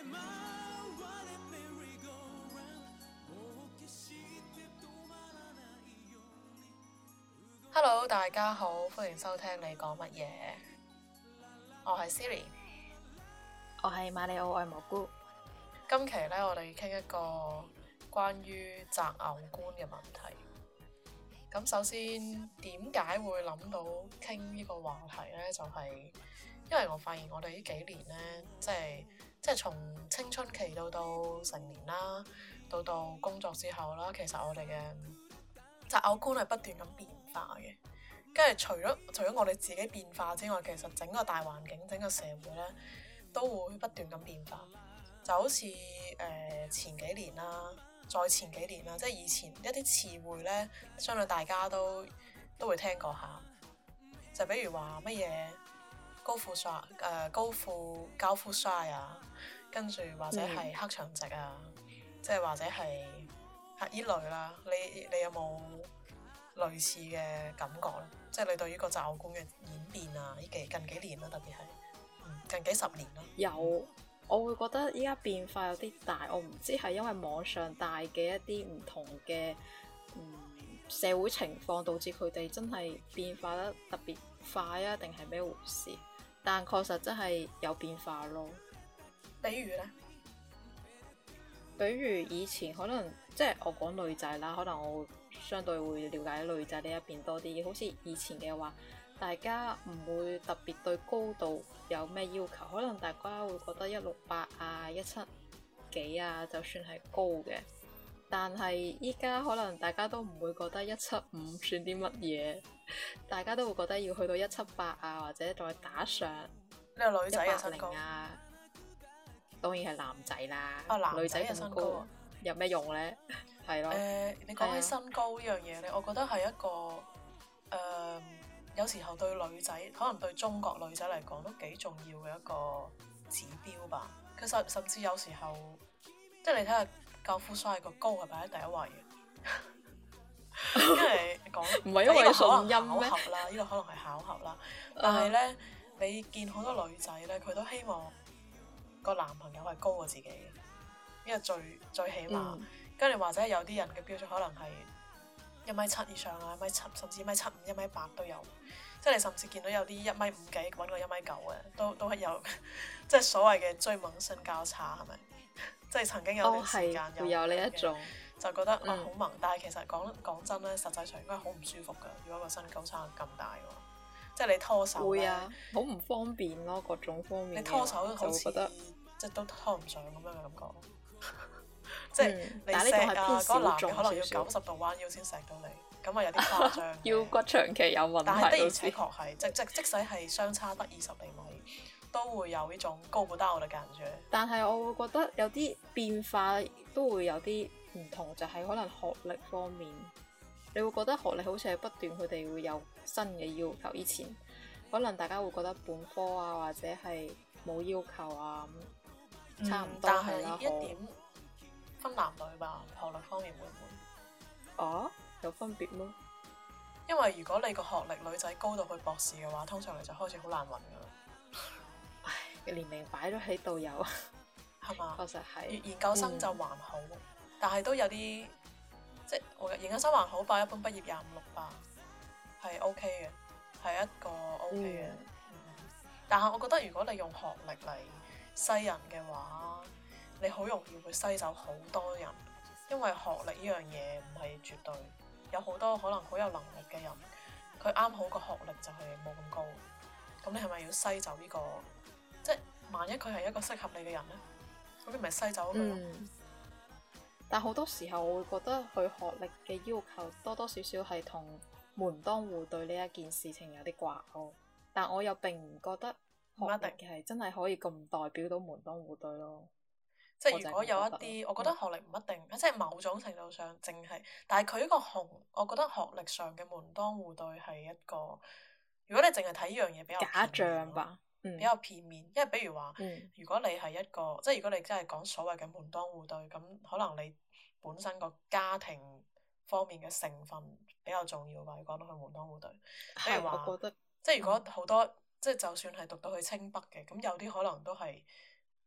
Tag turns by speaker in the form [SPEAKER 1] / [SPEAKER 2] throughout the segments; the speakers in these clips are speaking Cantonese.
[SPEAKER 1] Hello，大家好，歡迎收聽你講乜嘢？我係 Siri，
[SPEAKER 2] 我係馬里奧愛蘑菇。
[SPEAKER 1] 今期呢，我哋傾一個關於擇偶觀嘅問題。咁首先，點解會諗到傾呢個話題呢？就係因為我發現我哋呢幾年呢，即係從青春期到成年啦，到工作之後啦，其實我哋嘅擇偶觀係不斷咁變化嘅。跟住除咗我哋自己變化之外，其實整個大環境、整個社會呢，都會不斷咁變化。就好似前幾年啦，再前幾年啦，即係以前一啲詞彙呢，相信大家都會聽過下。就比如話乜嘢高富帥、高富帥啊，跟住或者係黑長直啊，即係或者係依類啦。你有冇類似嘅感覺咧？即係你對於個擇偶觀嘅演變啊，呢近幾年啦，特別係近幾十年啦。
[SPEAKER 2] 有，我會覺得依家變化有啲大，我唔知係因為網上帶嘅一啲唔同嘅社會情況導致佢哋真係變化得特別快啊，定係咩回事？但確實真係有變化咯。
[SPEAKER 1] 比如呢？
[SPEAKER 2] 比如以前可能即係我講女仔啦，可能我會相對會了解女仔呢一邊多啲。好似以前嘅話，大家唔會特別對高度有咩要求，可能大家會覺得168啊、17幾啊，就算係高嘅。但係依家可能大家都唔會覺得175算啲乜嘢，大家都會覺得要去到178啊，或者再打上
[SPEAKER 1] 呢個女仔嘅身高
[SPEAKER 2] 啊。當然係男仔啦，
[SPEAKER 1] 女仔嘅身高
[SPEAKER 2] 有咩用呢？係咯。
[SPEAKER 1] 你講起身高呢樣嘢咧，我覺得係一個有時候對女仔，可能對中國女仔嚟講都幾重要嘅一個指標吧。其實甚至有時候，即係你睇下高富帥個高係擺喺第一位嘅，因為講
[SPEAKER 2] 唔係因為順音咩？
[SPEAKER 1] 巧合啦，呢個可能係巧合啦。但係咧，你見好多女仔咧，佢都希望個男朋友係高過自己嘅，呢個最起碼。跟住或者有啲人嘅標準可能係1米7以上啊，1米7甚至1米75、1米8都有。即係你甚至見到有啲1米5幾揾個1米9嘅，都係有，即係所謂嘅追夢身交叉係咪？即係曾經有段時間
[SPEAKER 2] 有呢一種，
[SPEAKER 1] 就覺得好萌。但係其實講真咧，實際上應該好唔舒服㗎。如果個身高差咁大嘅話，即係你拖手
[SPEAKER 2] 會啊，好唔方便咯，各種方面。
[SPEAKER 1] 你拖手好似即係都拖唔上咁樣嘅感覺。即係你錫啊，嗰個男嘅可能要90度彎腰先錫到你，咁啊有啲誇張。
[SPEAKER 2] 腰骨長期有問題。
[SPEAKER 1] 但係的而且確係，即使係相差得20厘米，都會有呢種高不到嘅感覺。
[SPEAKER 2] 但係我會覺得有啲變化都會有啲唔同，就係可能學歷方面，你會覺得學歷好似係不斷佢哋會有新嘅要求。以前可能大家會覺得本科啊或者係冇要求啊，差唔多係啦。
[SPEAKER 1] 但係一點分男女吧，學歷方面會唔會？
[SPEAKER 2] 哦，有分別咩？
[SPEAKER 1] 因為如果你個學歷女仔高到去博士嘅話，通常你就開始好難揾噶啦。
[SPEAKER 2] 唉，年齡擺咗喺度有，
[SPEAKER 1] 係嘛？
[SPEAKER 2] 確實係。
[SPEAKER 1] 研究生就還好，但係都有啲即係我研究生還好吧，一般畢業25、26吧，係 OK 嘅，係一個 OK 嘅。但係我覺得如果你用學歷嚟篩人嘅話，你好容易會篩走好多人，因為學歷呢樣嘢唔係絕對，有好多可能好有能力嘅人，佢啱好個學歷就係冇咁高，咁你係咪要篩走呢個？即係萬一佢係一個適合你嘅人呢，咁你咪篩走佢。
[SPEAKER 2] 但好多時候我會覺得佢學歷嘅要求多多少少係同門當戶對呢一件事情有啲掛鈎，但我又並唔覺得學歷係真係可以咁代表到門當戶對咯。
[SPEAKER 1] 即係如果有一啲，我覺得學歷唔一定，即係某種程度上淨係，但係佢呢個我覺得學歷上嘅門當戶對係一個，如果你淨係睇呢樣嘢比較
[SPEAKER 2] 假象吧，
[SPEAKER 1] 比較片面。因為比如話，如果你係一個，即係如果你真係講所謂嘅門當戶對，咁可能你本身個家庭方面嘅成分比較重要吧。你講到佢門當戶對，比如話，
[SPEAKER 2] 我覺得
[SPEAKER 1] 即係如果好多，即係就算係讀到去清北嘅，咁有啲可能都係。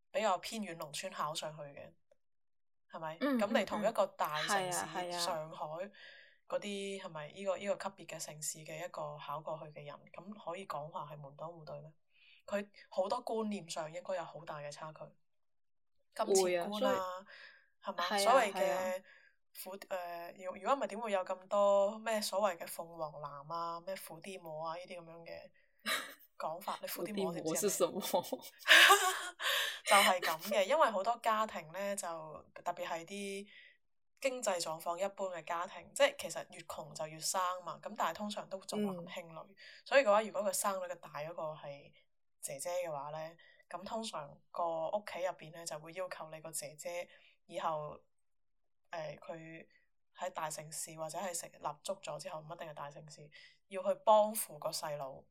[SPEAKER 1] 比較偏遠農村考上去嘅，係咪？咁、
[SPEAKER 2] 嗯
[SPEAKER 1] 你同一個大城市
[SPEAKER 2] 係啊係啊，
[SPEAKER 1] 上海嗰啲係咪呢個級別嘅城市嘅一個考過去嘅人，咁可以講話係門當戶對咩？佢好多觀念上應該有好大嘅差距，金錢
[SPEAKER 2] 會啊，所以
[SPEAKER 1] 觀啊，係嘛？
[SPEAKER 2] 係
[SPEAKER 1] 所謂
[SPEAKER 2] 啊係啊，
[SPEAKER 1] 嘅如果唔係點會有咁多咩所謂嘅鳳凰男啊、咩伏地魔啊呢啲咁樣嘅講法？你伏地
[SPEAKER 2] 伏地
[SPEAKER 1] 魔知唔知係咩？
[SPEAKER 2] 魔是什麼？
[SPEAKER 1] 就係咁嘅，因為好多家庭呢，就特別係啲經濟狀況一般嘅家庭，即係其實越窮就越生嘛。咁但係通常都重男輕女，所以嘅話，如果佢生女嘅大嗰個係姐姐嘅話呢，咁通常個屋企入邊呢，就會要求你個姐姐以後佢喺大城市或者係成立足咗之後，唔一定係大城市，要去幫扶個細佬。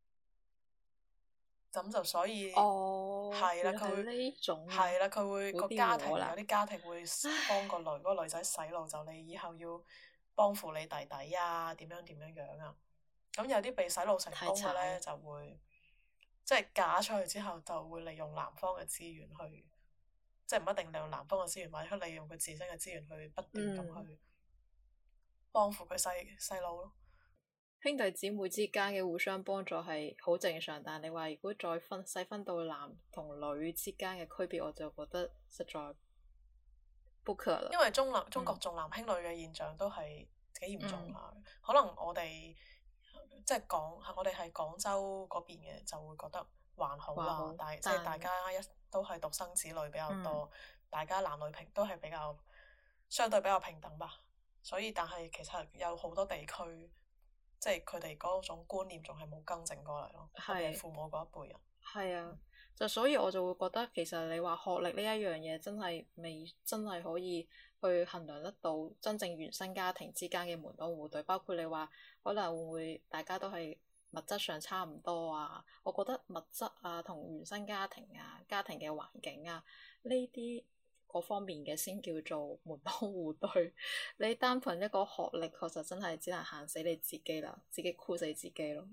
[SPEAKER 1] 咁就所以
[SPEAKER 2] 哦，
[SPEAKER 1] 係啦，
[SPEAKER 2] 原來係
[SPEAKER 1] 佢會
[SPEAKER 2] 呢種啊，
[SPEAKER 1] 係啦，佢會
[SPEAKER 2] 伏地
[SPEAKER 1] 個家庭
[SPEAKER 2] 魔啦，
[SPEAKER 1] 有啲家庭會幫個女嗰個女仔洗腦，就你以後要幫扶你弟弟啊，點樣點樣樣啊。咁有啲被洗腦成
[SPEAKER 2] 太
[SPEAKER 1] 功嘅呢，
[SPEAKER 2] 慘啦，
[SPEAKER 1] 就會即係嫁出去之後，就會利用男方嘅資源去，即係唔一定利用男方嘅資源，或者利用佢自身嘅資源去不斷咁去幫扶佢細佬咯。
[SPEAKER 2] 兄弟姊妹之間嘅互相幫助係好正常，但係你話如果再細分到男同女之間嘅區別，我就覺得實在不可能。
[SPEAKER 1] 因為中國重男輕女嘅現象都係幾嚴重下，可能我哋即係我哋係廣州嗰邊嘅，就會覺得還好啦。即係大家都係獨生子女比較多，大家男女都係比較相對比較平等吧。所以但係其實有好多地區，即係佢哋嗰種觀念仲係冇更正過嚟咯，特別係父母嗰一輩人。
[SPEAKER 2] 係啊，就所以我就會覺得其實你話學歷呢一樣嘢真係未真係可以去衡量得到真正原生家庭之間嘅門當戶對，包括你話可能會唔會大家都係物質上差唔多啊？我覺得物質啊同原生家庭啊、家庭嘅環境啊呢啲嗰方面嘅先叫做門當戶對。你單憑一個學歷，確實真係只能限死你自己啦，自己箍死自己咯。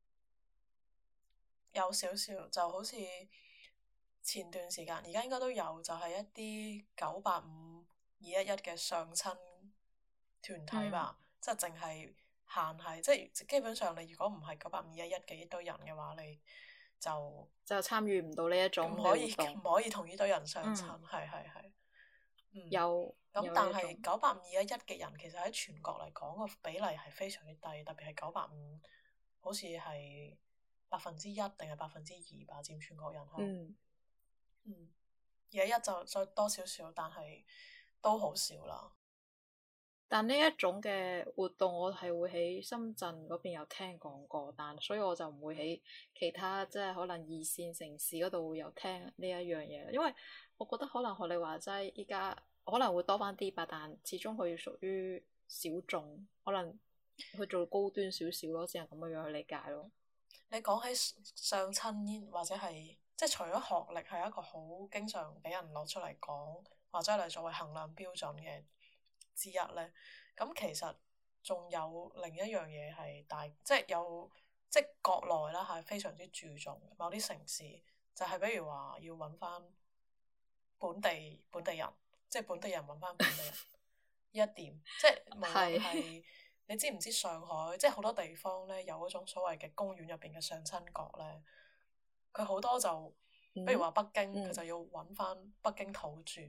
[SPEAKER 1] 有少少就好似前段時間，而家應該都有，就係一啲985-211嘅相親團體吧，即係淨係限係，即係基本上你如果唔係985-211嘅呢堆人嘅話，你就
[SPEAKER 2] 參與唔到呢一種
[SPEAKER 1] 唔可以
[SPEAKER 2] 嘅活動，
[SPEAKER 1] 唔可以同呢堆人相親，係係係。
[SPEAKER 2] 有
[SPEAKER 1] 咁但係
[SPEAKER 2] 呢一種
[SPEAKER 1] 985-211嘅人其實喺全國嚟講個比例係非常之低，特別係985，好似係1%定係2%吧，佔全國人口。211就再多少少，但係都好少啦。
[SPEAKER 2] 但呢一種嘅活動，我係會喺深圳嗰邊有聽講過，但所以我就唔會喺其他即係可能二線城市嗰度會有聽呢一樣嘢，因為我覺得可能學你話齋，依家可能會多翻啲吧，但始終佢屬於小眾，可能去做高端少少咯，只能咁樣樣去理解咯。
[SPEAKER 1] 你講起相親或者係即係除咗學歷係一個好經常俾人攞出嚟講，或者嚟作為衡量標準嘅之一呢。咁其實仲有另一樣嘢係即係即係國內啦，係非常之注重某啲城市，就係比如話要揾翻本地人，即係本地人揾翻本地人呢一點，即係無論係你知唔知上海，即係好多地方呢，有嗰種所謂嘅公園入邊嘅相親角呢，佢好多就，比如話北京，佢就要揾翻北京土著。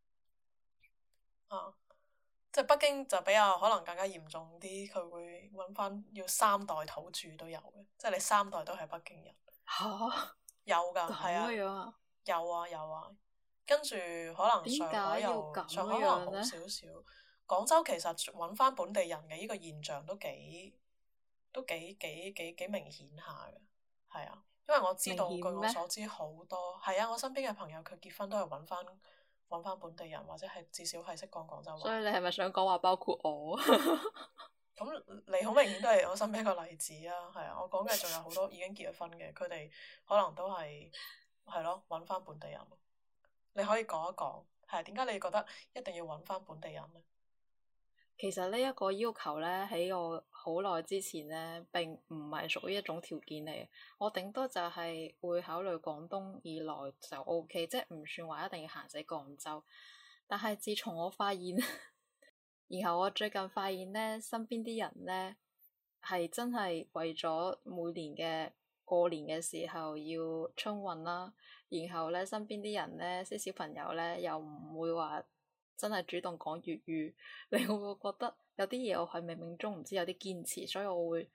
[SPEAKER 1] 即係北京就比較可能更加嚴重啲，佢會揾翻要3代土著都有嘅，即係你3代都係北京人。
[SPEAKER 2] 嚇！
[SPEAKER 1] 有㗎，係啊，有啊有啊。跟住可能上海可能好少少。廣州其實揾翻本地人嘅呢個現象都幾明顯下嘅，係啊，因為我知道據我所知好多係啊，我身邊嘅朋友佢結婚都係揾翻本地人，或者係至少係識講廣州話。
[SPEAKER 2] 所以你係咪想講話包括我？
[SPEAKER 1] 咁你好明顯都係我身邊一個例子啊，係啊，我講嘅仲有好多已經結咗婚嘅，佢哋可能都係咯揾翻本地人。你可以講一講，係點解你覺得一定要揾翻本地人呢？
[SPEAKER 2] 其實呢一個要求呢，喺我好耐之前呢，並唔係屬於一種條件嚟。我頂多就係會考慮廣東以內就 OK，即係唔算話一定要行死廣州。但係自從我發現，然後我最近發現呢，身邊啲人呢，係真係為咗每年嘅過年嘅時候要春運啦，然後呢，身邊啲人呢，啲小朋友呢，又唔會話真係主動講粵語，你會覺得有啲嘢我係冥冥中唔知有啲堅持，所以我會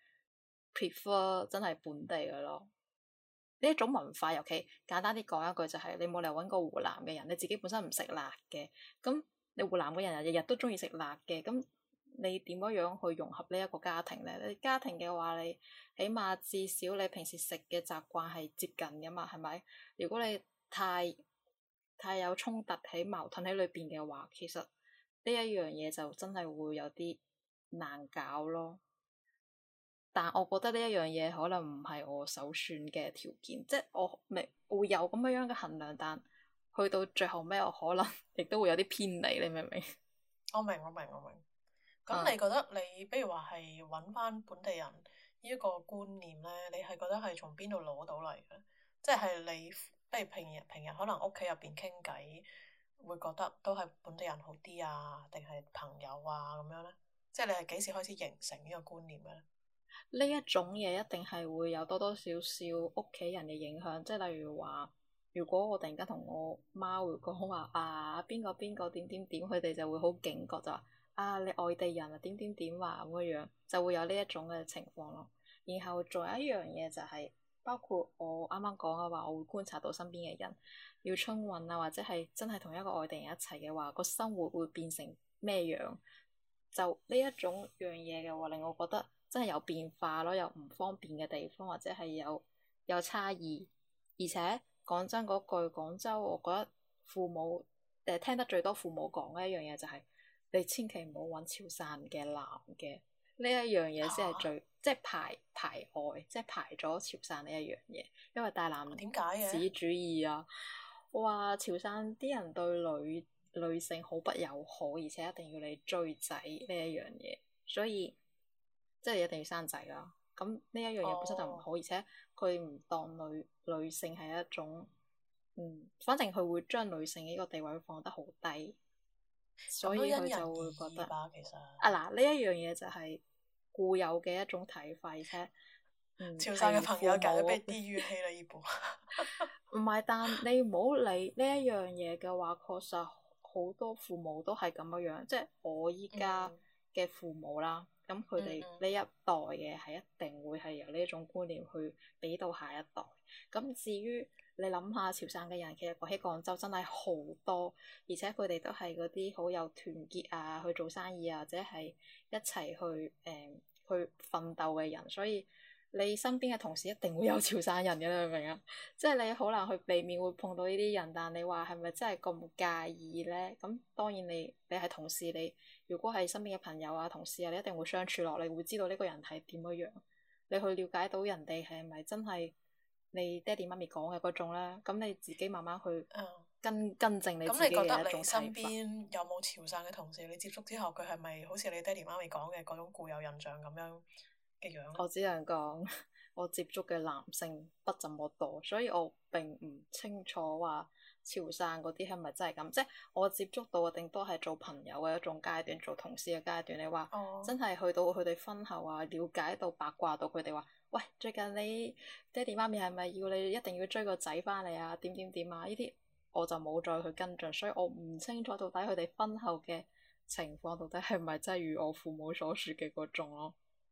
[SPEAKER 2] prefer 真係本地嘅咯。呢一種文化，尤其簡單啲講一句就係、你冇嚟揾個湖南嘅人，你自己本身唔食辣嘅，咁你湖南嘅人日日都中意食辣嘅，咁你點樣樣去融合呢一個家庭呢？你家庭嘅話，你起碼至少你平時食嘅習慣係接近㗎嘛，係咪？如果你太有衝突喺矛盾喺裏邊嘅話，其實呢一樣嘢就真係會有啲難搞咯。但我覺得呢一樣嘢可能唔係我首選嘅條件，即係我未會有咁樣嘅衡量，但去到最後尾，我可能亦都會有啲偏離，你明唔明？
[SPEAKER 1] 我明，我明，我明。咁
[SPEAKER 2] 嗯，
[SPEAKER 1] 你覺得你，比如話係揾翻本地人呢一個觀念呢，你係覺得係從邊度攞到嚟嘅？即係你，比如平日可能屋企入邊傾偈，會覺得都係本地人好啲啊，定係朋友啊咁樣呢？即係你係幾時開始形成呢個觀念嘅咧？
[SPEAKER 2] 呢一種嘢一定係會有多多少少屋企人嘅影響，即係例如話，如果我突然間同我媽會講話啊，邊個邊個點點點，佢哋就會好警覺，就話啊，你外地人啊點點點話咁嘅樣，就會有呢一種嘅情況咯。然後仲有一樣嘢就係、包括我啱啱講嘅話，我會觀察到身邊嘅人要春運啊，或者係真係同一個外地人一齊嘅話，個生活會變成咩樣？就呢一種樣嘢嘅話，令我覺得真係有變化咯，有唔方便嘅地方，或者係有差異。而且講真嗰句，廣州我覺得父母聽得最多父母講嘅一樣嘢就係、你千祈唔好揾潮汕嘅男嘅，呢一樣嘢先係
[SPEAKER 1] 嚇？
[SPEAKER 2] 最即係排外，即係排咗潮汕呢一樣嘢，因為大男
[SPEAKER 1] 點解嘅？
[SPEAKER 2] 子主義啊，話潮汕啲人對女性好不友好，而且一定要你追仔呢一樣嘢，所以即係一定要生仔啦。咁呢一樣嘢本身就唔
[SPEAKER 1] 哦，
[SPEAKER 2] 好，而且佢唔當女性係一種，反正佢會將女性呢個地位放得好低，所
[SPEAKER 1] 咁都因人而
[SPEAKER 2] 以佢就會覺得
[SPEAKER 1] 異吧，其實。
[SPEAKER 2] 啊嗱，呢一樣嘢就係固有嘅一種睇法，而且
[SPEAKER 1] 潮汕嘅
[SPEAKER 2] 係
[SPEAKER 1] 朋友簡直
[SPEAKER 2] 父母
[SPEAKER 1] 被地獄黑了一波。
[SPEAKER 2] 唔係，但你唔好理呢一樣嘢嘅話，確實好多父母都係咁樣樣，即係我依家
[SPEAKER 1] 嗯
[SPEAKER 2] 嘅父母啦，咁佢哋
[SPEAKER 1] 嗯嗯。
[SPEAKER 2] 呢一代嘅係一定會係由呢一種觀念去俾到下一代。咁至於你諗下，潮汕嘅人其實喺廣州真係好多，而且佢哋都係嗰啲好有團結啊，去做生意啊，或者係一齊去奮鬥嘅人，所以。你身邊嘅同事一定會有潮汕人嘅，你明唔明啊？即係你好難去避免會碰到呢啲人，但你話係咪真係咁介意呢？咁當然你係同事，你如果係身邊嘅朋友啊、同事啊，你一定會相處落，你會知道呢個人係點樣樣，你去了解到人哋係咪真係你爹哋媽咪講嘅嗰種呢？咁你自己慢慢去
[SPEAKER 1] 嗯。
[SPEAKER 2] 更正你
[SPEAKER 1] 咁
[SPEAKER 2] 自己
[SPEAKER 1] 你覺得你
[SPEAKER 2] 嘅一種睇法。
[SPEAKER 1] 身邊有冇潮汕嘅同事？你接觸之後，佢係咪好似你爹哋媽咪講嘅嗰種固有印象咁樣嘅樣咧？
[SPEAKER 2] 我只能講，我接觸嘅男性不怎麼多，所以我並唔清楚話潮汕嗰啲係咪真係咁。即係我接觸到嘅頂多係做朋友嘅一種階段，做同事嘅階段。你話
[SPEAKER 1] 哦。
[SPEAKER 2] 真係去到佢哋婚後啊，了解到八卦到佢哋話，喂，最近你爹哋媽咪係咪要你一定要追個仔翻嚟啊？點點點啊？呢啲我就冇再去跟進，所以我唔清楚到底佢哋婚後嘅情況到底係咪真係如我父母所說嘅嗰種咯。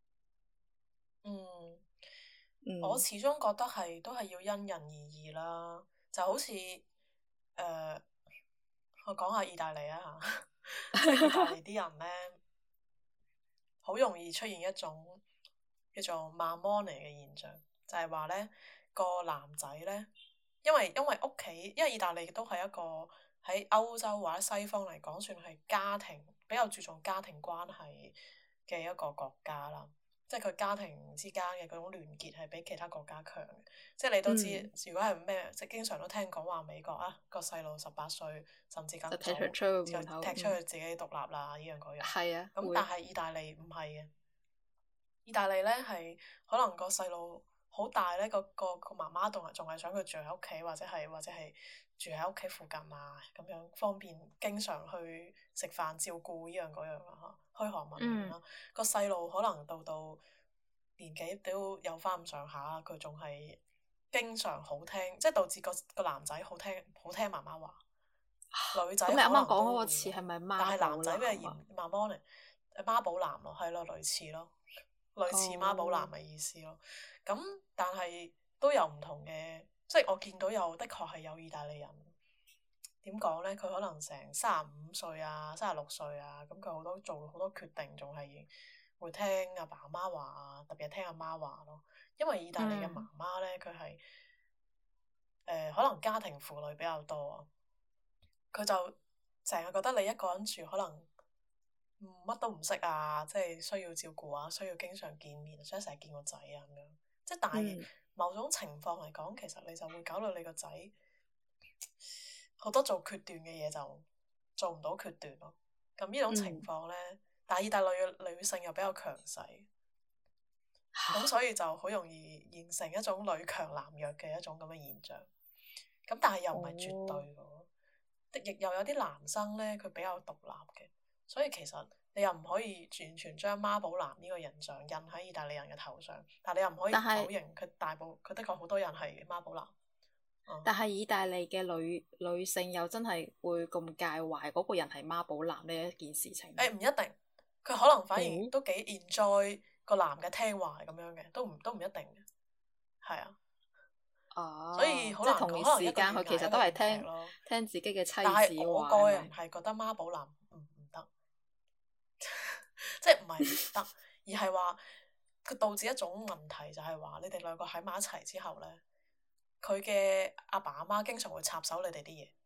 [SPEAKER 1] 嗯。我
[SPEAKER 2] 嗯。
[SPEAKER 1] 始終覺得係都係要因人而異啦。就好似我講下意大利啊嚇，即係意大利啲人咧，好容易出現一種叫做慢 m 尼嘅現象，就係話咧個男仔咧，因為屋企，因為意大利都係一個喺歐洲或者西方嚟講算係家庭比較注重家庭關係嘅一個國家啦。 即係佢家庭之間嘅嗰種聯結係比其他國家強嘅。即係你都知，如果係咩，即係經常都聽講話美國啊個細路18歲甚至更早
[SPEAKER 2] 就踢出去門口，
[SPEAKER 1] 踢出去自己獨立啦，呢樣嗰樣。
[SPEAKER 2] 係啊，
[SPEAKER 1] 咁但係意大利唔係嘅，意大利咧係可能個細路好大咧，個媽媽仲係想佢住喺屋企，或者係住喺屋企附近啊，咁樣方便經常去食飯照顧呢樣嗰樣啊嚇，噓寒問暖啦。個細路可能到年紀都有翻咁上下，佢仲係經常好聽，即係導致個男仔好聽媽媽話，女仔可能都會。咁你啱啱講嗰個詞係咪媽寶男啊？但係男仔比較嚴媽媽嚟，媽寶男咯，係咯，類似咯。類似媽寶男嘅意思咯，咁但係都有唔同嘅，即係我見到的確係有意大利人點講呢？佢可能成35歲啊、36歲啊，咁佢做好多決定，仲係會聽阿爸阿媽話啊，特別係聽阿媽話咯。因為意大利嘅媽媽呢，佢係可能家庭婦女比較多啊，佢就成日覺得你一個人住可能。乜都唔識啊，即係需要照顧啊，需要經常見面，想成日見個仔啊咁樣。即係但係某種情況嚟講，其實你就會搞到你個仔好多做決斷嘅嘢就做唔到決斷咯。咁呢種情況呢，但係意大利嘅女性又比較強勢，咁所以就好容易形成一種女強男弱嘅一種咁嘅現象。咁但係又唔係絕對嘅，亦又有啲男生呢，佢比較獨立嘅。所以其實你又唔可以完全將媽寶男呢個形象印喺意大利人嘅頭上，但係你又唔可以否認佢的確好多人係媽寶男。
[SPEAKER 2] 但係意大利嘅女性又真係會咁介懷嗰個人係媽寶男呢一件事情？
[SPEAKER 1] 唔一定，佢可能反而都幾 enjoy 個男嘅聽話咁樣嘅，都唔一定嘅，係啊。所以好難講，
[SPEAKER 2] 同一時間佢其實都係聽自己嘅妻子話。
[SPEAKER 1] 但係我個人係覺得媽寶男唔得。即係唔係唔得，而係話佢導致一種問題，就係話你哋兩個喺埋一齊之後呢，佢嘅阿爸阿媽經常會插手你哋啲嘢，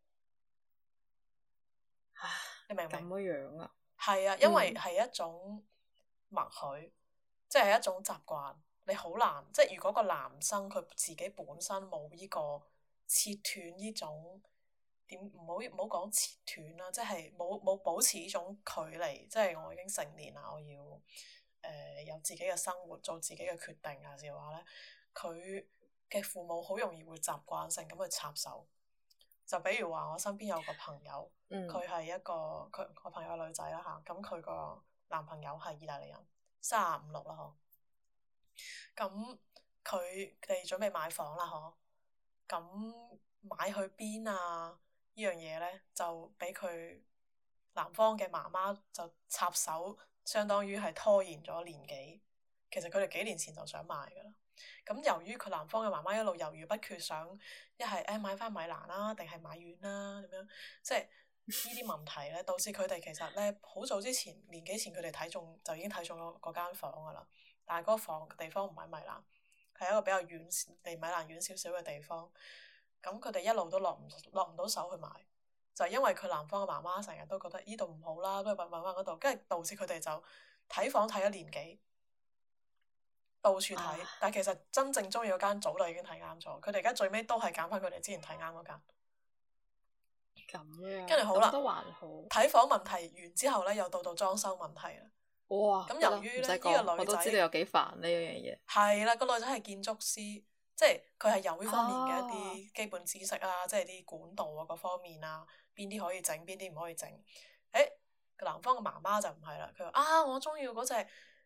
[SPEAKER 1] 你明唔明？
[SPEAKER 2] 咁樣啊？
[SPEAKER 1] 係啊，因為係一種默許，即係一種習慣，你好難，即係如果個男生佢自己本身冇呢個切斷呢種。唔好講切斷啦，即係冇保持呢種距離，即係我已經成年啦，我要有自己嘅生活，做自己嘅決定啊，嘅話呢，佢嘅父母好容易會習慣性咁去插手。就比如話我身邊有個朋友，佢係我朋友女仔啦嚇，咁佢個男朋友係意大利人，35、36啦嗬，咁佢哋準備買房啦嗬，咁買去邊啊？呢樣嘢呢，就俾佢男方嘅媽媽就插手，相當於係拖延咗年幾。其實佢哋幾年前就想買㗎啦。咁由於佢男方嘅媽媽一路猶豫不決，想一係買翻米蘭啦，定係買遠啦咁樣，即係呢啲問題呢，導致佢哋其實呢，好早之前年幾前佢哋就已經睇中咗嗰間房㗎啦。但係嗰個地方唔喺米蘭，係一個比較遠離米蘭遠少少嘅地方。咁佢哋一路都落唔到手去買，就係因為佢男方嘅媽媽成日都覺得呢度唔好啦，不如揾翻嗰度，跟住導致佢哋就睇房睇咗年幾，到處睇，但係其實真正中意嗰間早就已經睇啱咗，佢哋而家最尾都係揀翻佢哋之前睇啱嗰間。
[SPEAKER 2] 咁樣。
[SPEAKER 1] 跟住好啦，
[SPEAKER 2] 都還好。
[SPEAKER 1] 睇房問題完之後呢，又到裝修問題啦。
[SPEAKER 2] 哇！
[SPEAKER 1] 咁由於呢個女仔，
[SPEAKER 2] 我都知道有幾煩呢樣嘢。
[SPEAKER 1] 係啦，個女仔係建築師。即係佢係有呢方面嘅一啲基本知識啊，即係啲管道啊各方面啊，邊啲可以整，邊啲唔可以整。個男方嘅媽媽就唔係啦，佢話我中意嗰隻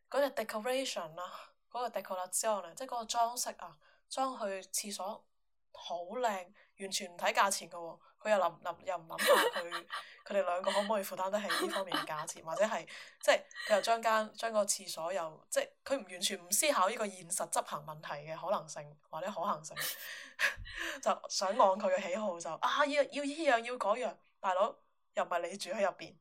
[SPEAKER 1] decoration 啊，嗰個 decoration 啊，即係嗰個裝飾啊，裝去廁所好靚，完全唔睇價錢嘅喎。佢又唔諗下佢哋兩個可唔可以負擔得起呢方面嘅價錢，或者係即係佢又將個廁所又即係佢完全唔思考呢個現實執行問題嘅可能性或者可行性，就想按佢嘅喜好就要呢樣要嗰樣，大佬又唔係你住喺入邊，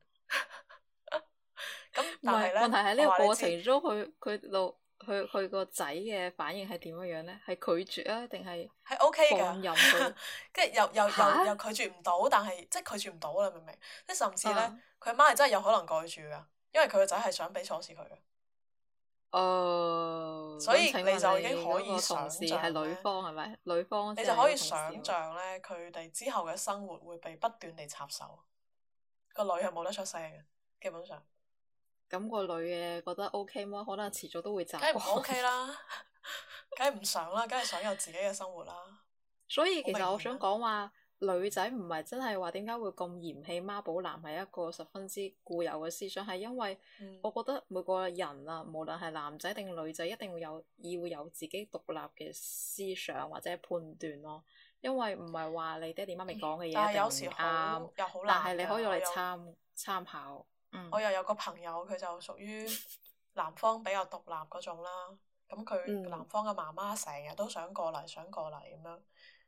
[SPEAKER 1] 咁但係咧，
[SPEAKER 2] 問題喺呢個過程中佢個仔嘅反應係點樣呢？係拒絕啊，定係
[SPEAKER 1] OK 㗎？跟住又拒絕唔到，但係即係拒絕唔到啦，明唔明？即係甚至呢，佢阿媽係真係有可能過去住㗎，因為佢個仔係想俾鎖匙佢嘅。 所以
[SPEAKER 2] 咁請
[SPEAKER 1] 你就已經
[SPEAKER 2] 問你嗰個
[SPEAKER 1] 可以想
[SPEAKER 2] 同事
[SPEAKER 1] 像咧，
[SPEAKER 2] 係女方係咪？女方
[SPEAKER 1] 你
[SPEAKER 2] 先係你個
[SPEAKER 1] 就可以想
[SPEAKER 2] 同事喎。
[SPEAKER 1] 像咧，佢哋之後嘅生活會被不斷地插手，個女係冇得出聲嘅，基本上。
[SPEAKER 2] 咁個女嘅覺得 OK 麼？可能遲早都會習
[SPEAKER 1] 梗係唔
[SPEAKER 2] 慣。
[SPEAKER 1] OK 啦，梗係唔想啦，梗係想有自己嘅生活啦。
[SPEAKER 2] 所以其實我想
[SPEAKER 1] 好明顯啦。
[SPEAKER 2] 講話，女仔唔係真係話點解會咁嫌棄媽寶男係一個十分之固有嘅思想，係因為
[SPEAKER 1] 嗯，
[SPEAKER 2] 我覺得每個人啊，無論係男仔定女仔，一定會要有自己獨立嘅思想或者判斷咯。因為唔係話你爹哋媽咪講嘅嘢
[SPEAKER 1] 但係
[SPEAKER 2] 一定唔
[SPEAKER 1] 有時好
[SPEAKER 2] 啱，
[SPEAKER 1] 又好
[SPEAKER 2] 但係
[SPEAKER 1] 難㗎。
[SPEAKER 2] 你可以攞嚟參考。
[SPEAKER 1] 我又有個朋友，佢就屬於男方比較獨立嗰種啦。咁佢男
[SPEAKER 2] 嗯，
[SPEAKER 1] 方嘅媽媽成日都想過嚟，想過嚟咁樣。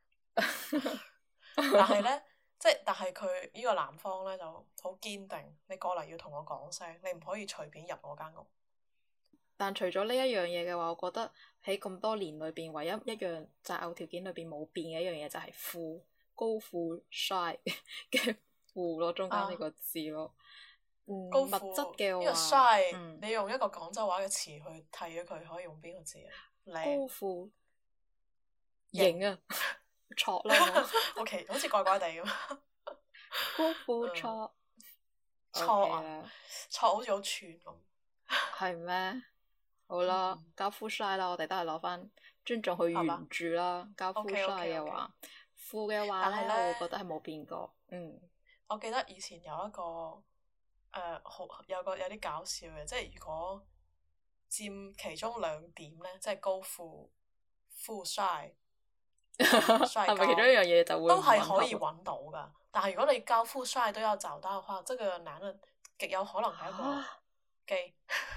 [SPEAKER 1] 但係咧，但係佢呢個男方咧就好堅定，你過嚟要同我講聲，你唔可以隨便入我間屋。
[SPEAKER 2] 但除咗呢一樣嘢嘅話，我覺得喺咁多年裏邊，唯一一樣擇偶條件裏邊冇變嘅一樣嘢就係富，高富帥嘅富咯，中間呢個字咯。物
[SPEAKER 1] 高富
[SPEAKER 2] 質嘅
[SPEAKER 1] 呢個
[SPEAKER 2] 話，
[SPEAKER 1] 衰，你用一個廣州話嘅詞去替咗佢，可以用邊個字啊？
[SPEAKER 2] 高
[SPEAKER 1] 靚
[SPEAKER 2] 富
[SPEAKER 1] 型
[SPEAKER 2] 型啊，挫啦我，
[SPEAKER 1] ，OK，好似怪怪地咁。
[SPEAKER 2] 高富
[SPEAKER 1] 嗯，
[SPEAKER 2] 挫
[SPEAKER 1] 錯
[SPEAKER 2] OK
[SPEAKER 1] 啊，
[SPEAKER 2] 啦，
[SPEAKER 1] 錯好似好串咁。
[SPEAKER 2] 係咩？好啦，
[SPEAKER 1] 嗯，
[SPEAKER 2] 交富帥啦，我哋都係攞翻尊重去
[SPEAKER 1] 係嘛
[SPEAKER 2] 原著啦。交富
[SPEAKER 1] ？OK
[SPEAKER 2] 帥
[SPEAKER 1] OK
[SPEAKER 2] 嘅
[SPEAKER 1] OK。
[SPEAKER 2] 話，富嘅話咧，
[SPEAKER 1] 但係
[SPEAKER 2] 我會覺得
[SPEAKER 1] 咧，
[SPEAKER 2] 係冇變過。
[SPEAKER 1] 我記得以前有一個好有啲搞笑嘅，即係如果佔其中兩點咧，即係高富、富帥、帥
[SPEAKER 2] 係咪其中一
[SPEAKER 1] 高，
[SPEAKER 2] 樣嘢就會
[SPEAKER 1] 都
[SPEAKER 2] 唔
[SPEAKER 1] 係可以
[SPEAKER 2] 吻合？
[SPEAKER 1] 揾到噶。但係如果你高富帥都要找到嘅話，這個男人極有可能係一個
[SPEAKER 2] 嚇！
[SPEAKER 1] 基。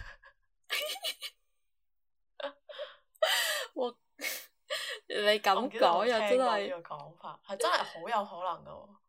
[SPEAKER 2] 我你咁
[SPEAKER 1] 我唔記得有
[SPEAKER 2] 講又
[SPEAKER 1] 冇聽過呢
[SPEAKER 2] 真係
[SPEAKER 1] 個講法，係真係好有可能噶喎。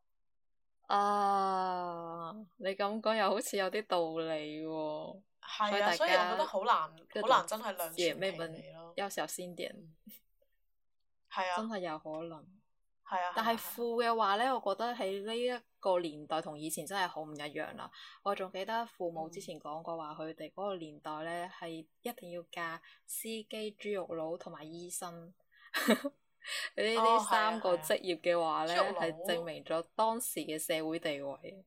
[SPEAKER 2] 啊！你咁講又好似有啲道理喎，所以
[SPEAKER 1] 係啊，所以我覺
[SPEAKER 2] 大家
[SPEAKER 1] 得好難，
[SPEAKER 2] 各種
[SPEAKER 1] 好難真係兩全其
[SPEAKER 2] 姐妹們
[SPEAKER 1] 美咯。
[SPEAKER 2] 要小心點，
[SPEAKER 1] 嗯，係啊，
[SPEAKER 2] 真係有可能。
[SPEAKER 1] 係啊，
[SPEAKER 2] 但係
[SPEAKER 1] 係啊，係啊。
[SPEAKER 2] 富嘅話呢，我覺得喺呢一個年代同以前真係好唔一樣啦。我仲記得父母之前講過話，佢哋嗰個年代呢係一定要嫁司機、豬肉佬同埋醫生。呢
[SPEAKER 1] 哦，係啊，
[SPEAKER 2] 三個
[SPEAKER 1] 係啊。
[SPEAKER 2] 職業嘅話呢，
[SPEAKER 1] 豬肉佬，
[SPEAKER 2] 係證明咗當時嘅社會地位。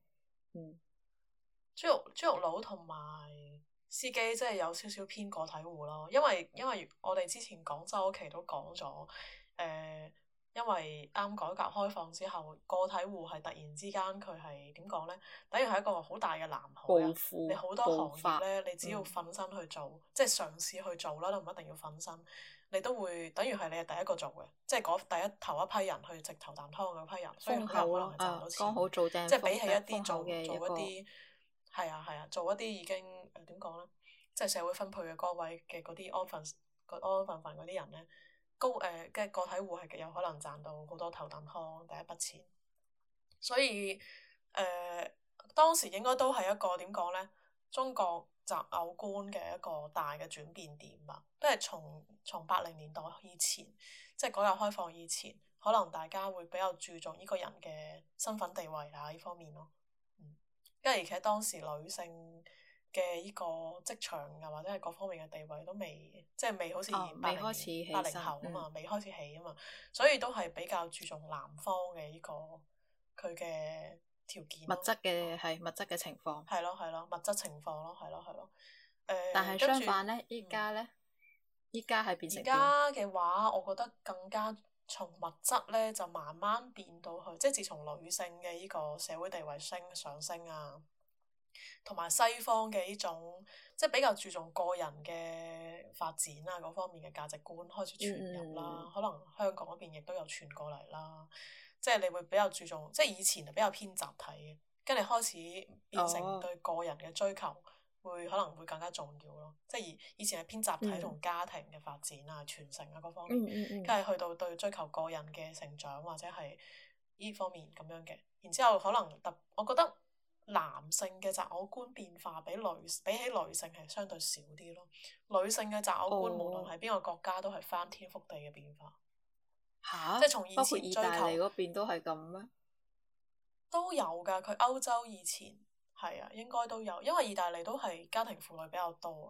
[SPEAKER 1] 豬肉佬同埋司機，即係有少少偏個體戶咯。因為我哋之前廣州嗰期都講咗，因為啱改革開放之後，個體戶係突然之間佢係點講呢？等於係一個好大嘅藍海啊！
[SPEAKER 2] 暴富
[SPEAKER 1] 你好多行業
[SPEAKER 2] 暴發，
[SPEAKER 1] 呢，你只要瞓身去做，即係嘗試去做啦，都唔一定要瞓身，你都會等於係你係第一個做嘅，即係頭一批人去直頭啖湯嗰批人，所以
[SPEAKER 2] 風
[SPEAKER 1] 好有可能
[SPEAKER 2] 口咯，
[SPEAKER 1] 係賺到錢
[SPEAKER 2] 剛好做正
[SPEAKER 1] 即係比起一
[SPEAKER 2] 風
[SPEAKER 1] 啲
[SPEAKER 2] 口嘅一個。
[SPEAKER 1] 做一啲係啊係啊，做一啲已經點講呢？即係社會分配嘅崗位嘅嗰啲安分嗰啲人呢，嘅個體戶係極有可能賺到好多頭啖湯第一筆錢，所以當時應該都係一個點講呢？中國擇偶觀嘅一個大嘅轉變點吧，都係從80年代以前，即係改革開放以前，可能大家會比較注重呢個人嘅身份地位啊呢方面咯。因為而且當時女性嘅呢個職場啊，或者係各方面嘅地位都未，即係未好似
[SPEAKER 2] 未開始起
[SPEAKER 1] 80
[SPEAKER 2] 身
[SPEAKER 1] 後啊嘛，未開始起啊嘛，所以都係比較注重男方嘅呢個佢嘅條件咯。
[SPEAKER 2] 物質嘅情況。
[SPEAKER 1] 係咯係咯，物質情況咯，係咯係咯。
[SPEAKER 2] 但係
[SPEAKER 1] 跟住
[SPEAKER 2] 相反呢，依家呢，依家係變
[SPEAKER 1] 而
[SPEAKER 2] 成點？
[SPEAKER 1] 家嘅話，我覺得更加從物質咧就慢慢變到去，即係自從女性嘅呢個社會地位上升啊，同埋西方嘅呢種即係比較注重個人嘅發展啊嗰方面嘅價值觀開始傳入啦，可能香港嗰邊亦都有傳過嚟啦。即係你會比較注重，即係以前係比較偏集體嘅，跟住開始變成對個人嘅追求。可能會更加重要咯，即係以前係偏集體同家庭嘅發展啊、傳承啊嗰方面，跟住去到對追求個人嘅成長或者係呢方面咁樣嘅，然之後可能我覺得男性嘅擇偶觀變化比起女性係相對少啲咯，女性嘅擇偶觀無論係邊個國家都係翻天覆地嘅變化，即係從以
[SPEAKER 2] 包括
[SPEAKER 1] 前追
[SPEAKER 2] 意大利
[SPEAKER 1] 求
[SPEAKER 2] 嗰邊都係咁咩？
[SPEAKER 1] 都有㗎，佢歐洲以前。係啊，應該都有，因為意大利都係家庭婦女比較多嘅，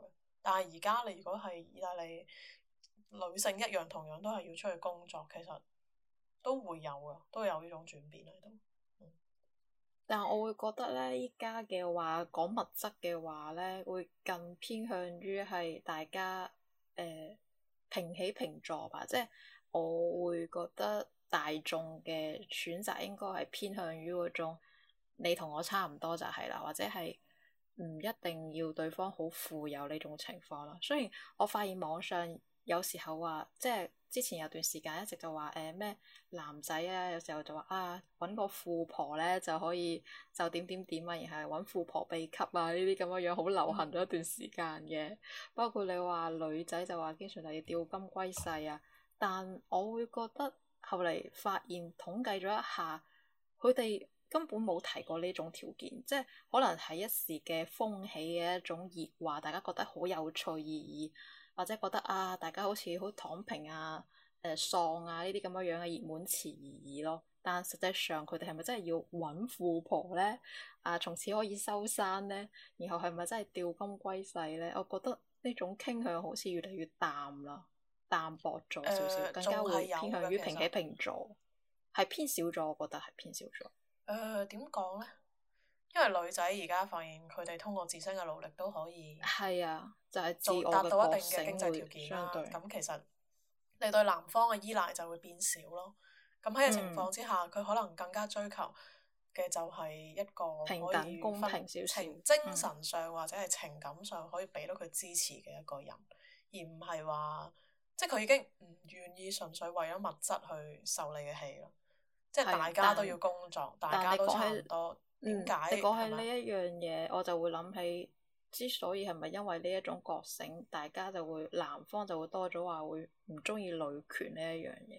[SPEAKER 1] 但係而家你如果係意大利女性一樣同樣都係要出去工作，其實都會有㗎，都有呢種轉變喺度。
[SPEAKER 2] 但係我會覺得咧，依家嘅話講物質嘅話咧，會更偏向於係大家平起平坐吧。即係我會覺得大眾嘅選擇應該係偏向於嗰種你同我差唔多就係啦，或者係唔一定要對方好富有呢種情況啦。雖然我發現網上有時候話，即係之前有段時間一直就話咩男仔啊，有時候就話啊揾個富婆咧就可以就點點點啊，然後揾富婆秘笈啊呢啲咁嘅樣好流行咗一段時間嘅。包括你話女仔就話經常就要釣金龜婿啊，但我會覺得後嚟發現統計咗一下，佢哋根本冇提過呢種條件，即係可能係一時嘅風起嘅一種熱話，大家覺得好有趣而已。或者覺得啊，大家好似好躺平啊、喪啊呢啲咁樣樣嘅熱門詞而已咯。但實際上佢哋係咪真係要揾富婆呢？啊，從此可以收山呢？然後係咪真係釣金龜婿呢？我覺得呢種傾向好似越嚟越淡啦，淡薄咗少少，更加會偏向於平起平坐，係偏少咗。我覺得係偏少咗。
[SPEAKER 1] 點講呢？因為女仔而家發現佢哋通過自身嘅努力都可以
[SPEAKER 2] 係啊，就係自我
[SPEAKER 1] 達到一定嘅
[SPEAKER 2] 嘅覺醒
[SPEAKER 1] 經濟條
[SPEAKER 2] 會
[SPEAKER 1] 件啦。
[SPEAKER 2] 相對
[SPEAKER 1] 咁其實你對男方嘅依賴就會變少咯。咁喺個情況之下，佢可能更加追求嘅就係一個
[SPEAKER 2] 平
[SPEAKER 1] 可以
[SPEAKER 2] 等公平少少，
[SPEAKER 1] 精神上或者係情感上可以俾到佢支持嘅一個人，而唔係話即係佢已經唔願意純粹為咗物質去受你嘅氣咯。即係大家都要工作，大家都差唔多。點解？
[SPEAKER 2] 你講起呢一樣嘢，我就會諗起，之所以係咪因為呢一種覺醒，大家就會男方就會多咗話會唔中意女權呢一樣嘢。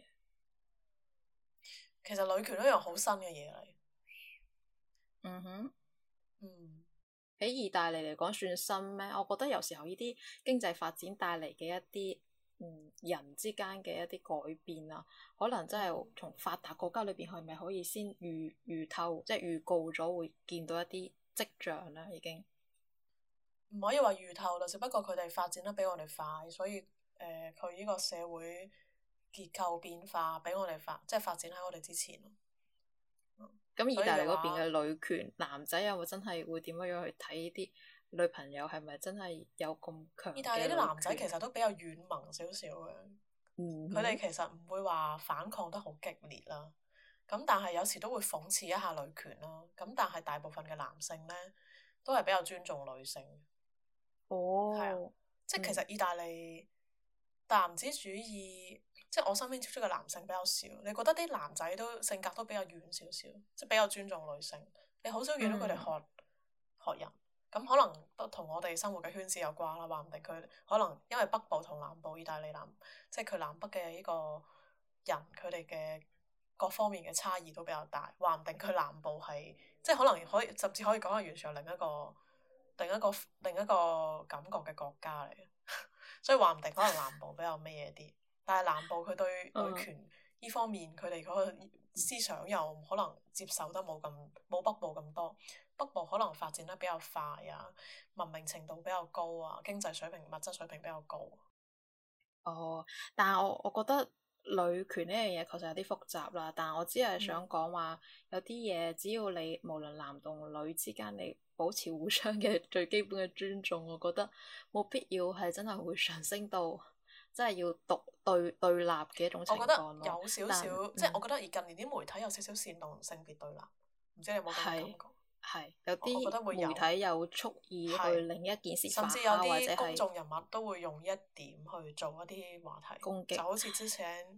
[SPEAKER 1] 其實女權一樣好新嘅嘢嚟。
[SPEAKER 2] 嗯哼。
[SPEAKER 1] 嗯。
[SPEAKER 2] 喺意大利嚟講算新咩？我覺得有時候呢啲經濟發展帶嚟嘅一啲人之間嘅一啲改變啊，可能真係從發達國家裏邊係咪可以先預透，即係預告咗會見到一啲跡象啦，已經
[SPEAKER 1] 唔可以話預透啦，只不過佢哋發展得比我哋快，所以佢呢個社會結構變化比我哋即係發展喺我哋之前咯。
[SPEAKER 2] 咁意大利嗰邊嘅女權，男仔有冇真係會點樣去睇呢啲女朋友係咪真係有咁強嘅女權？
[SPEAKER 1] 意大利啲男仔其實都比較軟萌少少嘅，佢哋其實唔會話反抗得好激烈啦。咁但係有時都會諷刺一下女權啦。咁但係大部分嘅男性呢，都係比較尊重女性。
[SPEAKER 2] 哦，
[SPEAKER 1] 係啊，即係其實意大利男子主義。即係我身邊接觸嘅男性比較少，你覺得啲男仔都性格都比較軟少少，即係比較尊重女性。你好少見到佢哋學人，咁可能都同我哋生活嘅圈子有關啦。話唔定佢可能因為北部同南部意大利即係佢南北嘅呢個人，佢哋嘅各方面嘅差異都比較大。話唔定佢南部係即係可能可以甚至可以講係完全係另一個感覺嘅國家嚟嘅，所以話唔定可能南部比較咩嘢啲。但係南部佢對女權呢方面，佢哋嗰個思想又可能接受得冇北部咁多。北部可能發展得比較快啊，文明程度比較高啊，經濟水平、物質水平比較高。
[SPEAKER 2] 哦，但係我覺得女權呢樣嘢確實有啲複雜啦。但係我只係想講話，有啲嘢只要你無論男同女之間，你保持互相嘅最基本嘅尊重，我覺得冇必要係真係會上升到。真係要對立嘅一種情況咯。
[SPEAKER 1] 我覺得有少少，即係我覺得而近年啲媒體有少少煽動性別對立，唔知你有冇咁嘅感覺？
[SPEAKER 2] 係有啲媒體有蓄意去令一件事發酵，
[SPEAKER 1] 甚至有啲公眾人物都會用一點去做一啲話題
[SPEAKER 2] 攻擊，
[SPEAKER 1] 就好似之前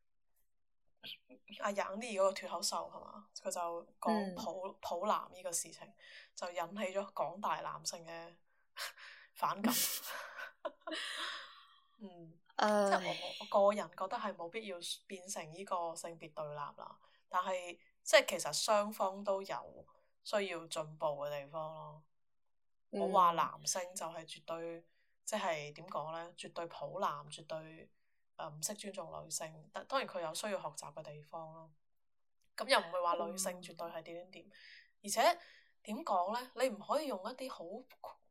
[SPEAKER 1] 阿楊冪嗰個脫口秀係嘛？佢就講普男呢個事情，就引起咗廣大男性嘅反感。即係我個人覺得係冇必要變成呢個性別對立啦，但係即係其實雙方都有需要進步嘅地方咯。我話男性就係絕對即係點講呢？絕對普男，絕對唔識尊重女性。當然佢有需要學習嘅地方咯。咁又唔會話女性絕對係點點點，而且點講呢？你唔可以用一啲好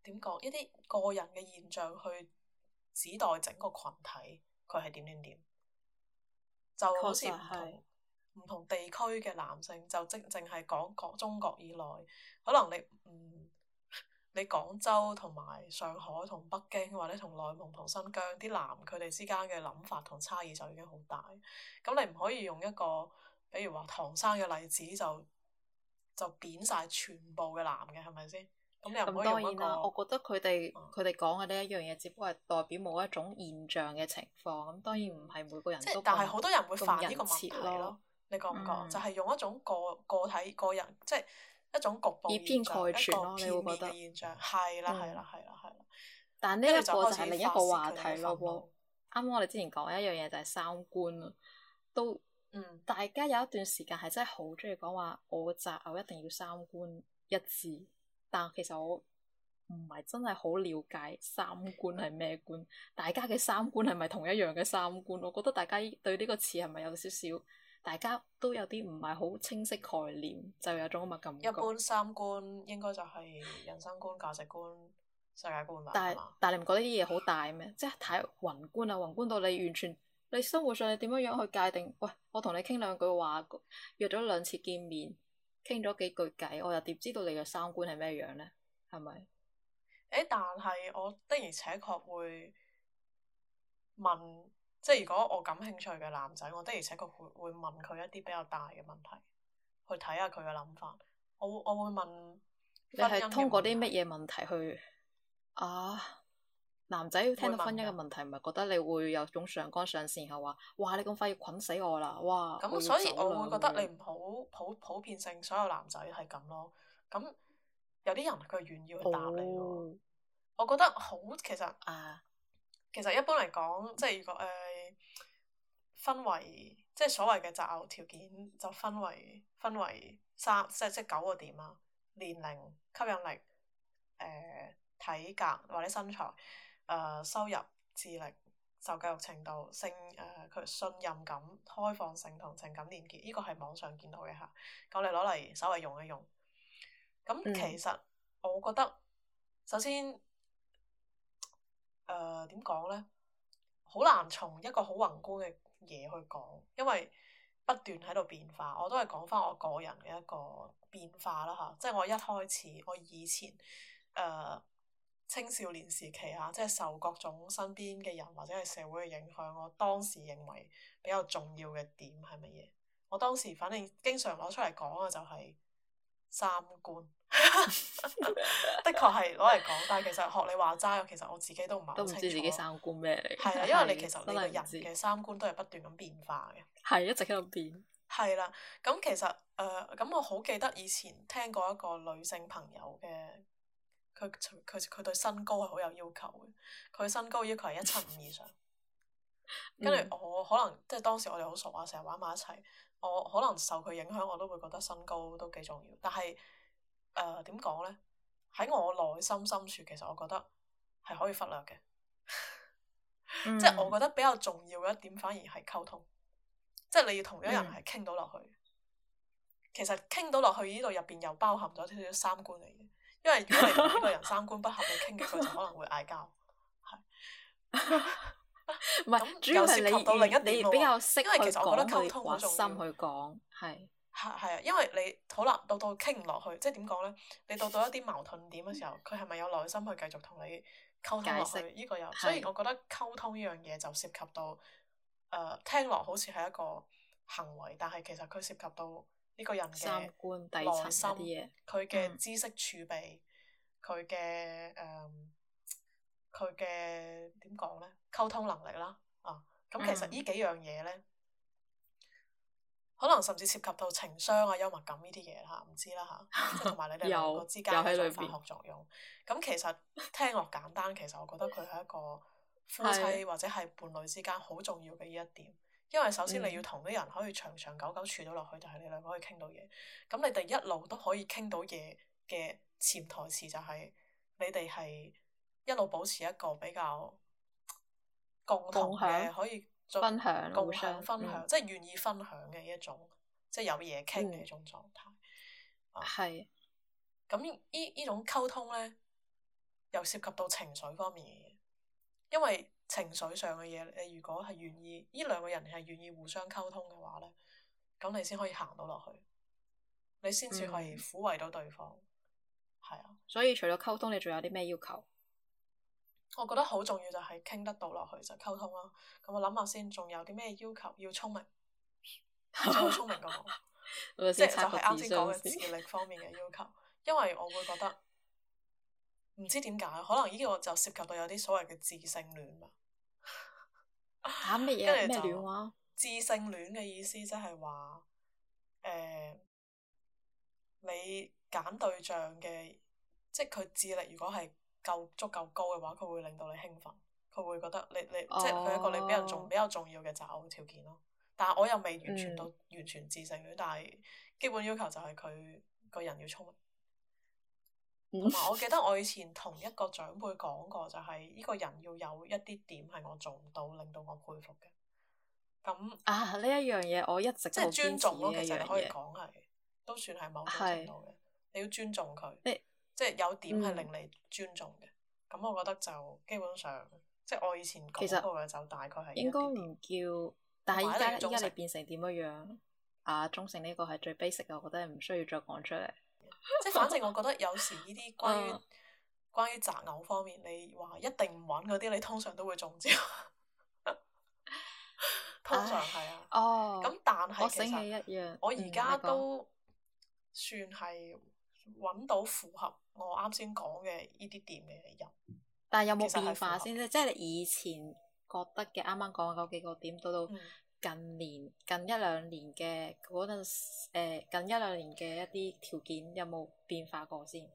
[SPEAKER 1] 點講一啲個人嘅現象去指代整個群體，佢係點點點，就好似
[SPEAKER 2] 確實係。
[SPEAKER 1] 唔同地區嘅男性，就淨係講中國以內，可能你廣州同埋上海同北京或者同內蒙同新疆啲男佢哋之間嘅諗法同差異就已經好大，咁你唔可以用一個比如話唐山嘅例子就貶晒全部嘅男嘅係咪先？咁你又唔
[SPEAKER 2] 咁
[SPEAKER 1] 可以用一個
[SPEAKER 2] 當然啦，我覺得佢哋講嘅呢一樣嘢，只不過係代表某一種現象嘅情況。咁當然唔係每個人
[SPEAKER 1] 即係
[SPEAKER 2] 都
[SPEAKER 1] 但係好多人會
[SPEAKER 2] 咁
[SPEAKER 1] 犯呢個問
[SPEAKER 2] 人設
[SPEAKER 1] 題咯，你覺唔覺？
[SPEAKER 2] 嗯，
[SPEAKER 1] 就係用一種個體個人，即係一種局部
[SPEAKER 2] 以偏概
[SPEAKER 1] 現象，一個
[SPEAKER 2] 全咯，你
[SPEAKER 1] 片面
[SPEAKER 2] 會覺得。
[SPEAKER 1] 嘅現象，係啦係啦
[SPEAKER 2] 嗯，
[SPEAKER 1] 係啦係啦，
[SPEAKER 2] 但呢一
[SPEAKER 1] 跟住就開
[SPEAKER 2] 個就係另一
[SPEAKER 1] 始發
[SPEAKER 2] 個話題
[SPEAKER 1] 泄佢哋嘅
[SPEAKER 2] 咯喎。
[SPEAKER 1] 憤怒。
[SPEAKER 2] 啱啱我哋之前講嘅一樣嘢就係三觀啊，都
[SPEAKER 1] 嗯，
[SPEAKER 2] 大家有一段時間係真係好中意講話，我嘅擇偶一定要三觀一致。但其實我唔係真係好了解三觀係咩觀，大家嘅三觀係咪同一樣嘅三觀？我覺得大家對呢個詞係咪有少少，大家都有啲唔係好清晰概念，就有種咁嘅感覺。
[SPEAKER 1] 一般三觀應該就係人生觀、價值觀、世界觀吧，
[SPEAKER 2] 但係
[SPEAKER 1] 係嘛？
[SPEAKER 2] 但係你唔覺得呢啲嘢好大咩？即係太宏觀啦，宏觀到你完全你生活上你點樣樣去界定？喂，我同你傾兩句話，約咗兩次見面，傾咗幾句偈，我又點知道你嘅三觀係咩樣呢？係咪？
[SPEAKER 1] 但係我的而且確會問，即係如果我感興趣嘅男仔，我的而且確會問佢一啲比較大嘅問題，去睇下佢嘅諗法。我會問
[SPEAKER 2] 你
[SPEAKER 1] 婚姻嘅
[SPEAKER 2] 係通過啲
[SPEAKER 1] 問題。
[SPEAKER 2] 乜嘢問題去啊？男仔聽到婚姻嘅
[SPEAKER 1] 會問㗎。
[SPEAKER 2] 問題，唔係覺得你會有種上綱上線，係話哇你咁快要捆死我啦，哇我
[SPEAKER 1] 咁
[SPEAKER 2] 要走
[SPEAKER 1] 所以我會覺得你
[SPEAKER 2] 啦咁樣。
[SPEAKER 1] 唔好普遍性所有男仔係咁咯。咁有啲人佢願意去答你咯。
[SPEAKER 2] 哦
[SPEAKER 1] 我覺得好其實
[SPEAKER 2] 啊
[SPEAKER 1] 其實一般嚟講，即係如果分為即係所謂嘅擇偶條件，就分為三即係九個點啊。年齡、吸引力、體格或者身材、收入、智力、受教育程度、佢信任感、開放性同情感連結，呢個係網上見到嘅嚇。咁你攞嚟稍微用一用。咁
[SPEAKER 2] 嗯
[SPEAKER 1] 其實我覺得首先點講呢？好難從一個好宏觀嘅嘢去講，因為不斷喺度變化。我都係講翻我個人嘅一個變化啦嚇，即係我一開始我以前青少年時期啊，即係受各種身邊嘅人或者係社會嘅影響，我當時認為比較重要嘅點係乜嘢？我當時反正經常攞出嚟講嘅就係三觀，的確係攞嚟講，但係其實學你話齋，其實我自己都唔係好
[SPEAKER 2] 都唔知自
[SPEAKER 1] 清楚。
[SPEAKER 2] 己三觀咩嚟，
[SPEAKER 1] 係啊，因為你其實
[SPEAKER 2] 真
[SPEAKER 1] 你個人
[SPEAKER 2] 係唔知，
[SPEAKER 1] 嘅三觀都係不斷咁變化嘅。
[SPEAKER 2] 係一直喺度變。
[SPEAKER 1] 係啦，咁其實咁我好記得以前聽過一個女性朋友嘅，佢對身高係好有要求嘅，佢身高要求係175以上。跟住
[SPEAKER 2] 嗯
[SPEAKER 1] 我可能即係當時我哋好熟啊，成日玩埋一齊，我可能受佢影響，我都會覺得身高都幾重要。但係點講呢？喺我內心深處，其實我覺得係可以忽略嘅。即係我
[SPEAKER 2] 嗯
[SPEAKER 1] 覺得比較重要嘅一點，反而係溝通。即係你要同一個人
[SPEAKER 2] 嗯
[SPEAKER 1] 係傾到落去。其實傾到落去呢度入邊又包含咗少少三觀嚟嘅，因為如果你同呢個人三觀不合，你傾幾句就可能會嗌交。係。
[SPEAKER 2] 唔係，
[SPEAKER 1] 咁
[SPEAKER 2] 主要係
[SPEAKER 1] 又涉及到另一點
[SPEAKER 2] 你
[SPEAKER 1] 咯喎
[SPEAKER 2] 比較識
[SPEAKER 1] 因為其
[SPEAKER 2] 去
[SPEAKER 1] 實我覺得溝
[SPEAKER 2] 講去
[SPEAKER 1] 通好重
[SPEAKER 2] 挖心去
[SPEAKER 1] 要。
[SPEAKER 2] 講，係
[SPEAKER 1] 係啊，因為你好難到傾唔落去，即係點講呢？你到一啲矛盾點嘅時候，佢係咪有耐心去繼續同你溝通落去？
[SPEAKER 2] 解釋
[SPEAKER 1] 呢個有，所以
[SPEAKER 2] 係
[SPEAKER 1] 我覺得溝通呢樣嘢就涉及到聽落好似係一個行為，但係其實佢涉及到呢個人
[SPEAKER 2] 三
[SPEAKER 1] 嘅
[SPEAKER 2] 觀底層
[SPEAKER 1] 內心，
[SPEAKER 2] 一啲嘢。
[SPEAKER 1] 佢嘅
[SPEAKER 2] 嗯
[SPEAKER 1] 知識儲備，佢嘅佢嘅點講呢？溝通能力啦，咁其實
[SPEAKER 2] 嗯
[SPEAKER 1] 呢幾樣嘢呢。可能甚至涉及到情商啊、幽默感呢啲嘢嚇，唔知啦嚇，即係同埋你哋兩個之間
[SPEAKER 2] 有
[SPEAKER 1] 嘅一種化
[SPEAKER 2] 喺裏邊，
[SPEAKER 1] 學作用。咁其實聽落簡單，其實我覺得佢係一個夫
[SPEAKER 2] 係
[SPEAKER 1] 妻或者係伴侶之間好重要嘅呢一點。因為首先你要
[SPEAKER 2] 嗯
[SPEAKER 1] 同啲人可以長長久久處到落去，就係你兩個可以傾到嘢。咁你哋一路都可以傾到嘢嘅潛台詞就係你哋係一路保持一個比較共同
[SPEAKER 2] 共享
[SPEAKER 1] 嘅可以
[SPEAKER 2] 分享互
[SPEAKER 1] 共享
[SPEAKER 2] 相
[SPEAKER 1] 分享，即係願意分享嘅一種，即係有嘢傾嘅一種狀態。
[SPEAKER 2] 係
[SPEAKER 1] 咁呢種溝通呢， 又涉及到情緒方面嘅嘢，因為情緒上嘅嘢，你如果係願意，呢兩個人係願意互相溝通嘅話咧，咁你先可以行到落去，你先至係撫慰到對方，係啊。
[SPEAKER 2] 所以除咗溝通，你仲有啲咩要求？
[SPEAKER 1] 我覺得好重要就係傾得到落去就溝通啦。咁我諗下先，仲有啲咩要求？要聰明，最好聰明過我，即係就係啱先講嘅智力方面嘅要求。因為我會覺得唔知點解，可能呢個就涉及到有啲所謂嘅智性戀吧。
[SPEAKER 2] 嚇乜嘢咩戀話？
[SPEAKER 1] 智性戀嘅意思即係話你揀對象嘅，即係佢智力如果係足夠高嘅話，佢會令到你興奮，佢會覺得你即係佢係一個你比較重要嘅擇偶條件咯。但係我又未完全到完全智性戀，但係基本要求就係佢個人要聰明。同埋我記得我以前同一個長輩講過，就係呢個人要有一啲點係我做唔到，令到我佩服嘅。咁
[SPEAKER 2] 呢一樣嘢我一直
[SPEAKER 1] 即係尊重咯，
[SPEAKER 2] 其
[SPEAKER 1] 實你可以講係都算係某種程度嘅。你要尊重佢，即係有點係令你尊重嘅。咁我覺得就基本上，即係我以前講過嘅就大概係
[SPEAKER 2] 應該唔叫，但係依家你變成點樣啊？忠誠呢個係最 basic 嘅，我覺得唔需要再講出嚟。
[SPEAKER 1] 即係反正我覺得有時呢啲關於擇偶方面，你話一定唔揾嗰啲，你通常都會中招。通常係啊。咁但係其實我而家都算係揾到符合我啱先講嘅呢啲點嘅人。
[SPEAKER 2] 但係有冇變化先啫？即係你以前覺得嘅啱啱講嗰幾個點，到近一兩年嘅嗰陣近一兩年嘅一啲條件有冇變化過先？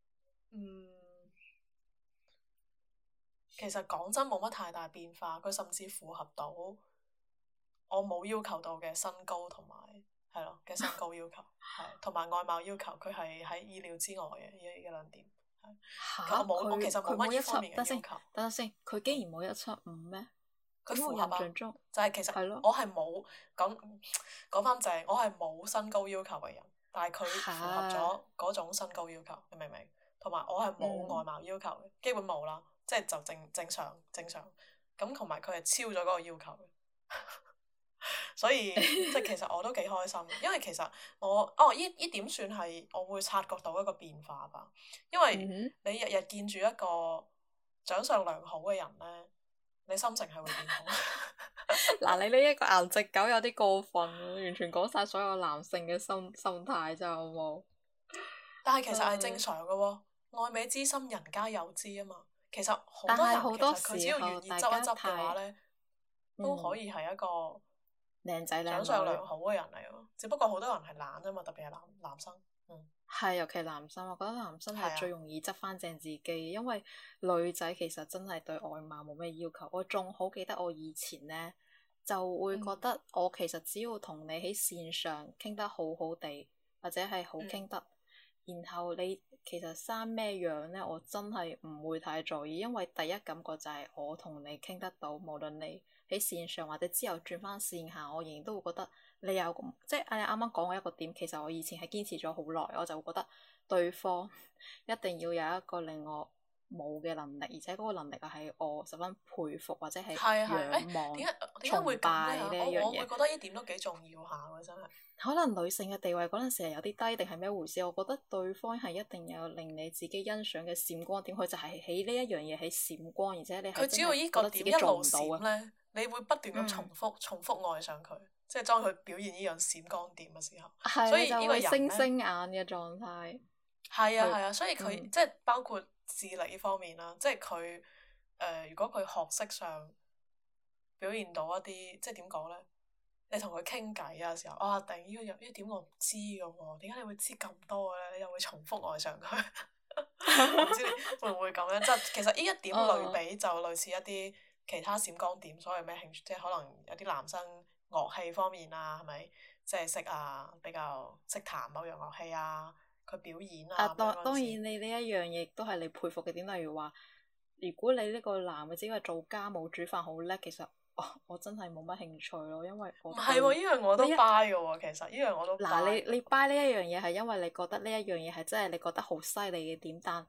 [SPEAKER 1] 其實講真冇乜太大變化，佢甚至符合到我冇要求到嘅身高同埋係咯嘅身高要求，係同埋外貌要求，佢係喺意料之外嘅呢兩點。我其實冇乜呢方面嘅要求。
[SPEAKER 2] 等陣先，佢竟然冇175咩？
[SPEAKER 1] 佢符合啊！
[SPEAKER 2] 就
[SPEAKER 1] 係其實我係冇講翻正，我係冇身高要求嘅人，但係佢符合咗嗰種身高要求，你明唔明？同埋我係冇外貌要求嘅，基本冇啦，即係就正常。咁同埋佢係超咗嗰個要求嘅，所以即係其實我都幾開心，因為其實呢點算係我會察覺到一個變化吧，因為你日日見住一個長相良好嘅人咧。你心情係會變好。
[SPEAKER 2] 嗱，你呢一個顏值狗有啲過分，完全講晒所有男性嘅心態真係好冇。
[SPEAKER 1] 但係其實係正常嘅喎，愛美之心人皆有之啊嘛。其實好多人其實佢只要願意執一執嘅話咧，都可以係一個
[SPEAKER 2] 靚仔
[SPEAKER 1] 長相良好嘅人嚟咯。只不過好多人係懶啫嘛，特別係男生。
[SPEAKER 2] 係，尤其男生，我覺得男生係最容易執翻正自己，因為女仔其實真係對外貌冇咩要求。我仲好記得我以前呢，就會覺得我其實只要同你喺線上傾得好好地，或者係好傾得，然後你其實生咩樣呢，我真係唔會太在意，因為第一感覺就係我同你傾得到，無論你喺線上或者之後轉翻線下，我仍然都會覺得。你有即係你啱啱講嘅一個點，其實我以前係堅持咗好耐，我就會覺得對方一定要有一個令我冇嘅能力，而且嗰個能力係我十分佩服或者係仰望、崇拜呢一樣嘢。
[SPEAKER 1] 我會覺得呢點都幾重要下喎，真係。
[SPEAKER 2] 可能女性嘅地位嗰陣時係有啲低，定係咩回事？我覺得對方係一定有令你自己欣賞嘅閃光點，佢就係喺呢一樣嘢喺閃光，而且你係真係覺得自己做唔到啊！
[SPEAKER 1] 你會不斷咁重複愛上佢。即係當佢表現呢樣閃光點嘅時候，
[SPEAKER 2] 所以呢個星星眼嘅狀態。
[SPEAKER 1] 係啊，所以佢即係包括智力呢方面啦，即係佢如果佢學識上表現到一啲，即係點講咧？你同佢傾偈嘅時候，突然呢點我唔知嘅喎，點解你會知咁多嘅咧？你又會重複愛上佢，唔知你會唔會咁樣？即係其實呢一點類比就類似一啲其他閃光點，所謂咩興趣，即係可能有啲男生。樂器方面啊，係咪即係識比較識彈某樣樂器啊？佢表演啊。
[SPEAKER 2] 當然你呢一樣嘢都係你佩服嘅點，例如話，如果你呢個男嘅只係做家務煮飯好叻，其實我真係冇乜興趣咯，因為我唔係喎，
[SPEAKER 1] 呢樣我都 buy 嘅喎，其實呢樣我都 buy。
[SPEAKER 2] 你 buy 呢一樣嘢係因為你覺得呢一樣嘢係真係你覺得好犀利嘅點，但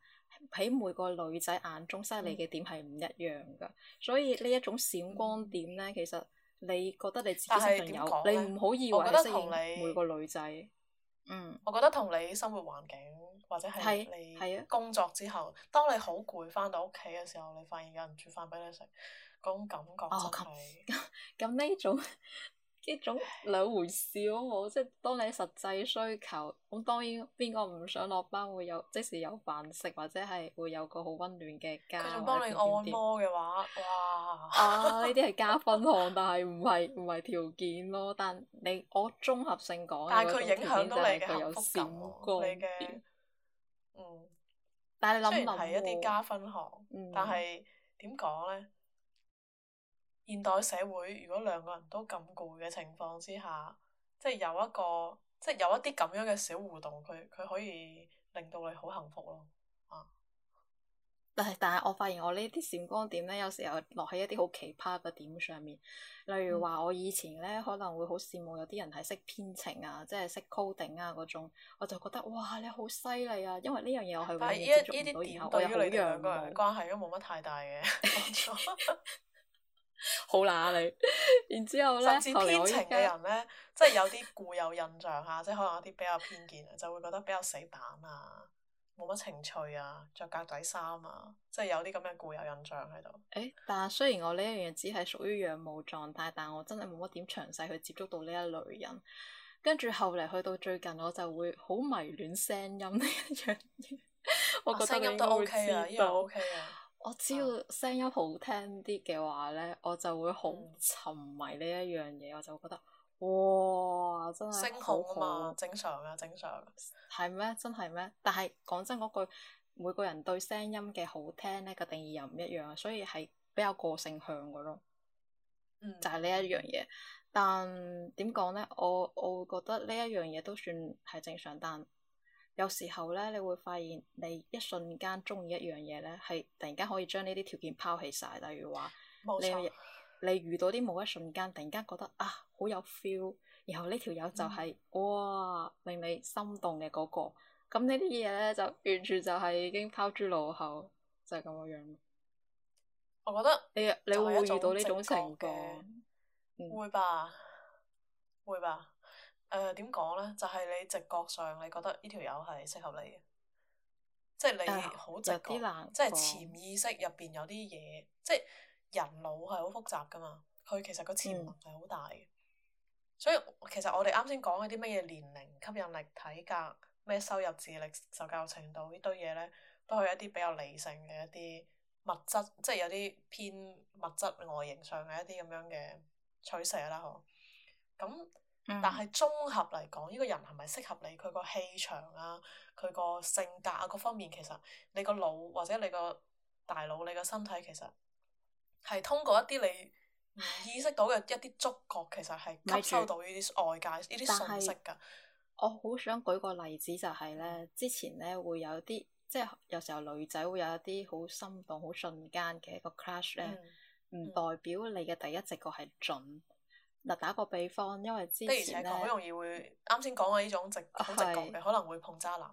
[SPEAKER 2] 喺每個女仔眼中犀利嘅點係唔一樣噶，所以呢一種閃光點咧，其實你覺得你自己身上有，你唔好以為係適應每個女仔。
[SPEAKER 1] 我覺得同你生活環境或者係你工作之後，當你好攰翻到屋企嘅時候，你發現有人煮飯俾你食，嗰種感覺真係
[SPEAKER 2] 咁呢種兩回事咯，即係當你實際需求，咁當然邊個唔想落班會有即時有飯食，或者係會有個好溫暖嘅家。
[SPEAKER 1] 佢仲幫你按摩嘅話，哇！
[SPEAKER 2] 啊，呢啲係加分項，但係唔係條件咯。但我綜合性講，
[SPEAKER 1] 但係佢影響到你嘅
[SPEAKER 2] 佢有
[SPEAKER 1] 幸福感，你嘅
[SPEAKER 2] 但係你諗諗
[SPEAKER 1] 雖然係一啲加分項，但係點講咧？現代社會如果兩個人都咁攰嘅情況之下，即係有一啲咁樣嘅小互動，佢可以令到你好幸福咯。
[SPEAKER 2] 但係我發現我呢啲閃光點咧，有時候落喺一啲好奇葩嘅點上面。例如話我以前咧可能會好羨慕有啲人係識編程啊，即係識 coding 啊嗰種，我就覺得哇你好犀利啊！因為呢樣嘢我係永遠接觸唔到，然後我又好仰慕。
[SPEAKER 1] 關係都冇乜太大嘅幫助。
[SPEAKER 2] 好乸你，然之後咧，
[SPEAKER 1] 甚至編程嘅人咧，即係有啲固有印象嚇，即係可能有啲比較偏見啊，就會覺得比較死板啊，冇乜情趣啊，着格仔衫啊，即係有啲咁嘅固有印象喺度。
[SPEAKER 2] 但係雖然我呢一樣嘢只係屬於仰慕狀態，但我真係冇乜點詳細去接觸到呢一類人。跟住後嚟去到最近，我就會好迷戀聲音呢一樣嘢。我覺得
[SPEAKER 1] 聲音都 OK 啊，呢樣 OK 啊。
[SPEAKER 2] 我只要聲音好聽啲嘅話咧，我就會好沉迷呢一樣嘢，我就覺得哇，真係
[SPEAKER 1] 聲控啊嘛，正常啊，正常。
[SPEAKER 2] 係咩？真係咩？但係講真嗰句，每個人對聲音嘅好聽咧個定義又唔一樣，所以係比較個性向嘅咯。就係呢一樣嘢。但點講咧？我會覺得呢一樣嘢都算係正常，但有時候咧，你會發現你一瞬間中意一樣嘢咧，係突然間可以將呢啲條件拋棄晒。例如話，你遇到啲某一瞬間，突然間覺得啊好有 feel，然後呢條友就係哇令你心動嘅嗰個。咁呢啲嘢咧就完全就係已經拋諸腦後，就係咁嘅樣。
[SPEAKER 1] 我覺得
[SPEAKER 2] 你會唔會遇到呢種情況？
[SPEAKER 1] 會吧，會吧。點講咧？就係你直覺上，你覺得呢條友係適合你嘅，即係你好直覺，即係潛意識入邊有啲嘢，即係人腦係好複雜噶嘛。佢其實個潛能係好大嘅，所以其實我哋啱先講嗰啲乜嘢年齡、吸引力、體格、咩收入、智力、受教育程度呢堆嘢咧，都係一啲比較理性嘅一啲物質，即係有啲偏物質外形上嘅一啲咁樣嘅取捨啦，嗬。咁但係綜合嚟講，呢個人係咪適合你？佢個氣場啊，佢個性格啊，各方面其實你個腦或者你個大腦、你個身體其實係通過一啲你唔意識到嘅一啲觸覺，其實係吸收到呢啲外界呢啲信息㗎。
[SPEAKER 2] 我好想舉個例子就係咧，之前咧會有啲即係有時候女仔會有一啲好心動、好瞬間嘅一個 crush 咧，唔代表你嘅第一直覺係準。嗱，打個比方，因為之前咧，
[SPEAKER 1] 好容易會啱先講嘅呢種好直覺嘅，可能會碰渣男。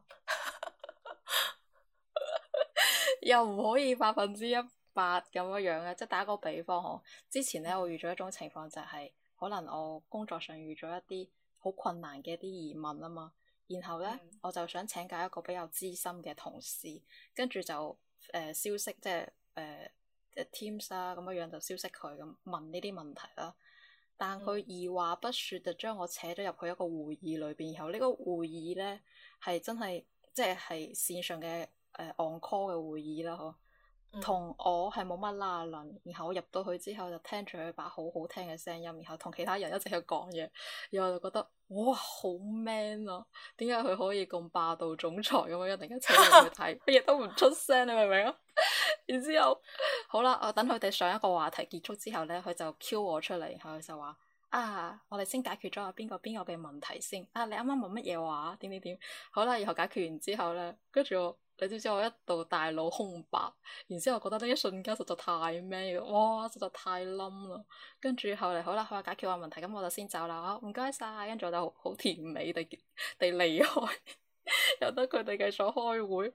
[SPEAKER 2] 又唔可以100%咁樣樣嘅，即係打個比方嗬。之前咧，我遇咗一種情況就係，可能我工作上遇咗一啲好困難嘅一啲疑問啊嘛，然後咧我就想請教一個比較資深嘅同事，跟住就消息即係Teams 啦咁樣樣就消息佢咁問呢啲問題啦。但佢二話不說就將我扯咗入去一個會議裏邊，然後呢個會議咧係真係即係線上嘅on call 嘅會議啦，嗬，同我係冇乜拉楞。然後我入到去之後就聽住佢把好好聽嘅聲音，然後同其他人一直喺度講嘢，然後我就覺得哇好 man 啊！點解佢可以咁霸道總裁咁樣一突然間扯入去睇，乜嘢都唔出聲，你明唔明啊？然之後，好啦，我等佢哋上一個話題結束之後咧，佢就 Q 我出嚟，然後佢就話：啊，我哋先解決咗邊個嘅問題先。啊，你啱啱問乜嘢話？點點點。好啦，然後解決完之後咧，跟住你知唔知我一度大腦空白？然之後我覺得呢一瞬間實在太咩嘅，哇，實在太冧啦。跟住後嚟好啦，佢話解決完問題，咁我就先走啦。唔該晒，跟住我就好甜美地離開，由得佢哋繼續開會。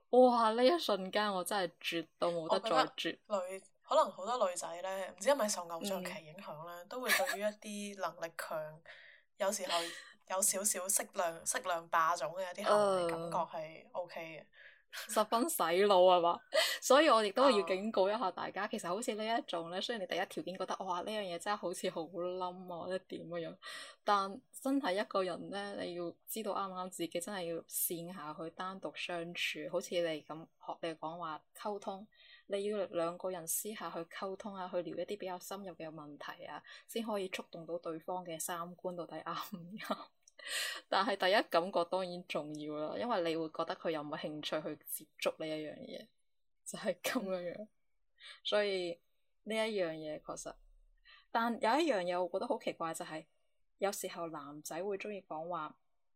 [SPEAKER 2] 哇！呢一瞬間我真係絕到冇得
[SPEAKER 1] 我覺得
[SPEAKER 2] 再絕。
[SPEAKER 1] 可能好多女仔咧，唔知係咪受偶像
[SPEAKER 2] 嗯，
[SPEAKER 1] 劇影響咧，都會對於一啲能力強，有時候有少少適量霸總嘅一啲行為，感覺係 OK 嘅。
[SPEAKER 2] 十分洗腦係嘛？所以我亦都係要
[SPEAKER 1] 啊，
[SPEAKER 2] 警告一下大家，其實好似呢一種咧，雖然你第一條件覺得哇呢樣嘢真係好似好冧啊，或者點樣，但真係一個人咧，你要知道啱唔啱自己，真係要線下去單獨相處，好似你咁學你講話溝通，你要兩個人私下去溝通啊，去聊一啲比較深入嘅問題啊，先可以觸動到對方嘅三觀到底啱唔啱。但係第一感覺當然重要啦，因為你會覺得佢有冇興趣去接觸呢一樣嘢，就係咁樣樣。所以呢一樣嘢確實，但有一樣嘢我覺得好奇怪就係，有時候男仔會中意講話，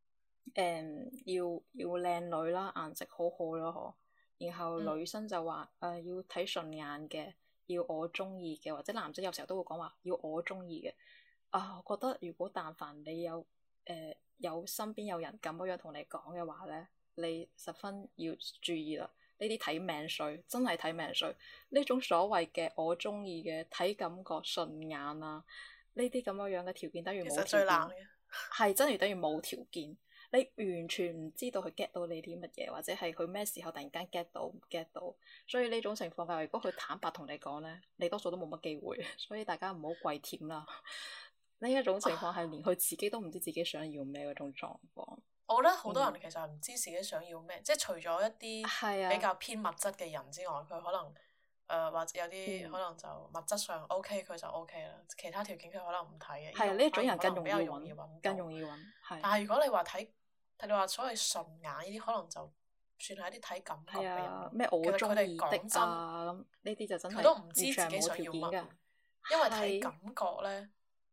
[SPEAKER 2] 要靚女啦，顏值好好咯，嗬。然後
[SPEAKER 1] 嗯，
[SPEAKER 2] 女生就話要睇順眼嘅，要我中意嘅，或者男仔有時候都會講話要我中意嘅。啊，我覺得如果但凡你有身邊有人咁樣同你講嘅話咧，你十分要注意啦。呢啲睇命水，真係睇命水。呢種所謂嘅我中意嘅睇感覺順眼啊，呢啲咁樣嘅條件等於
[SPEAKER 1] 其實
[SPEAKER 2] 冇條件，
[SPEAKER 1] 最難嘅。
[SPEAKER 2] 係真係等於冇條件。你完全唔知道佢 get 到你啲乜嘢，或者係佢咩時候突然間 get 到唔 get 到。所以呢種情況下，如果佢坦白同你講咧，你多數都冇乜機會。所以大家唔好跪舔啦。呢一種情況係連佢自己都唔知自己想要咩嗰種狀況。
[SPEAKER 1] 我覺得好多人
[SPEAKER 2] 嗯，
[SPEAKER 1] 其實唔知自己想要咩，即係除咗一啲
[SPEAKER 2] 係啊，
[SPEAKER 1] 比較偏物質嘅人之外，佢可能或者有啲可
[SPEAKER 2] 嗯，
[SPEAKER 1] 能就物質上 OK 佢就 OK 啦，其他條件佢可能唔睇嘅，呢
[SPEAKER 2] 係啊，
[SPEAKER 1] 種
[SPEAKER 2] 呢一種
[SPEAKER 1] 反而可能比
[SPEAKER 2] 人更容易
[SPEAKER 1] 較容易
[SPEAKER 2] 揾，
[SPEAKER 1] 揾到。
[SPEAKER 2] 更容易揾，係
[SPEAKER 1] 但係如果你話睇，你話所謂順眼呢啲，可能就算係一啲睇感覺
[SPEAKER 2] 係
[SPEAKER 1] 嘅人
[SPEAKER 2] 啊，
[SPEAKER 1] 咯。
[SPEAKER 2] 咩我
[SPEAKER 1] 其實佢哋
[SPEAKER 2] 中意的
[SPEAKER 1] 講真，
[SPEAKER 2] 啊咁呢啲就真係
[SPEAKER 1] 佢都唔知
[SPEAKER 2] 完全係冇
[SPEAKER 1] 自己想
[SPEAKER 2] 條件㗎，
[SPEAKER 1] 要乜，因為睇
[SPEAKER 2] 係
[SPEAKER 1] 感覺咧，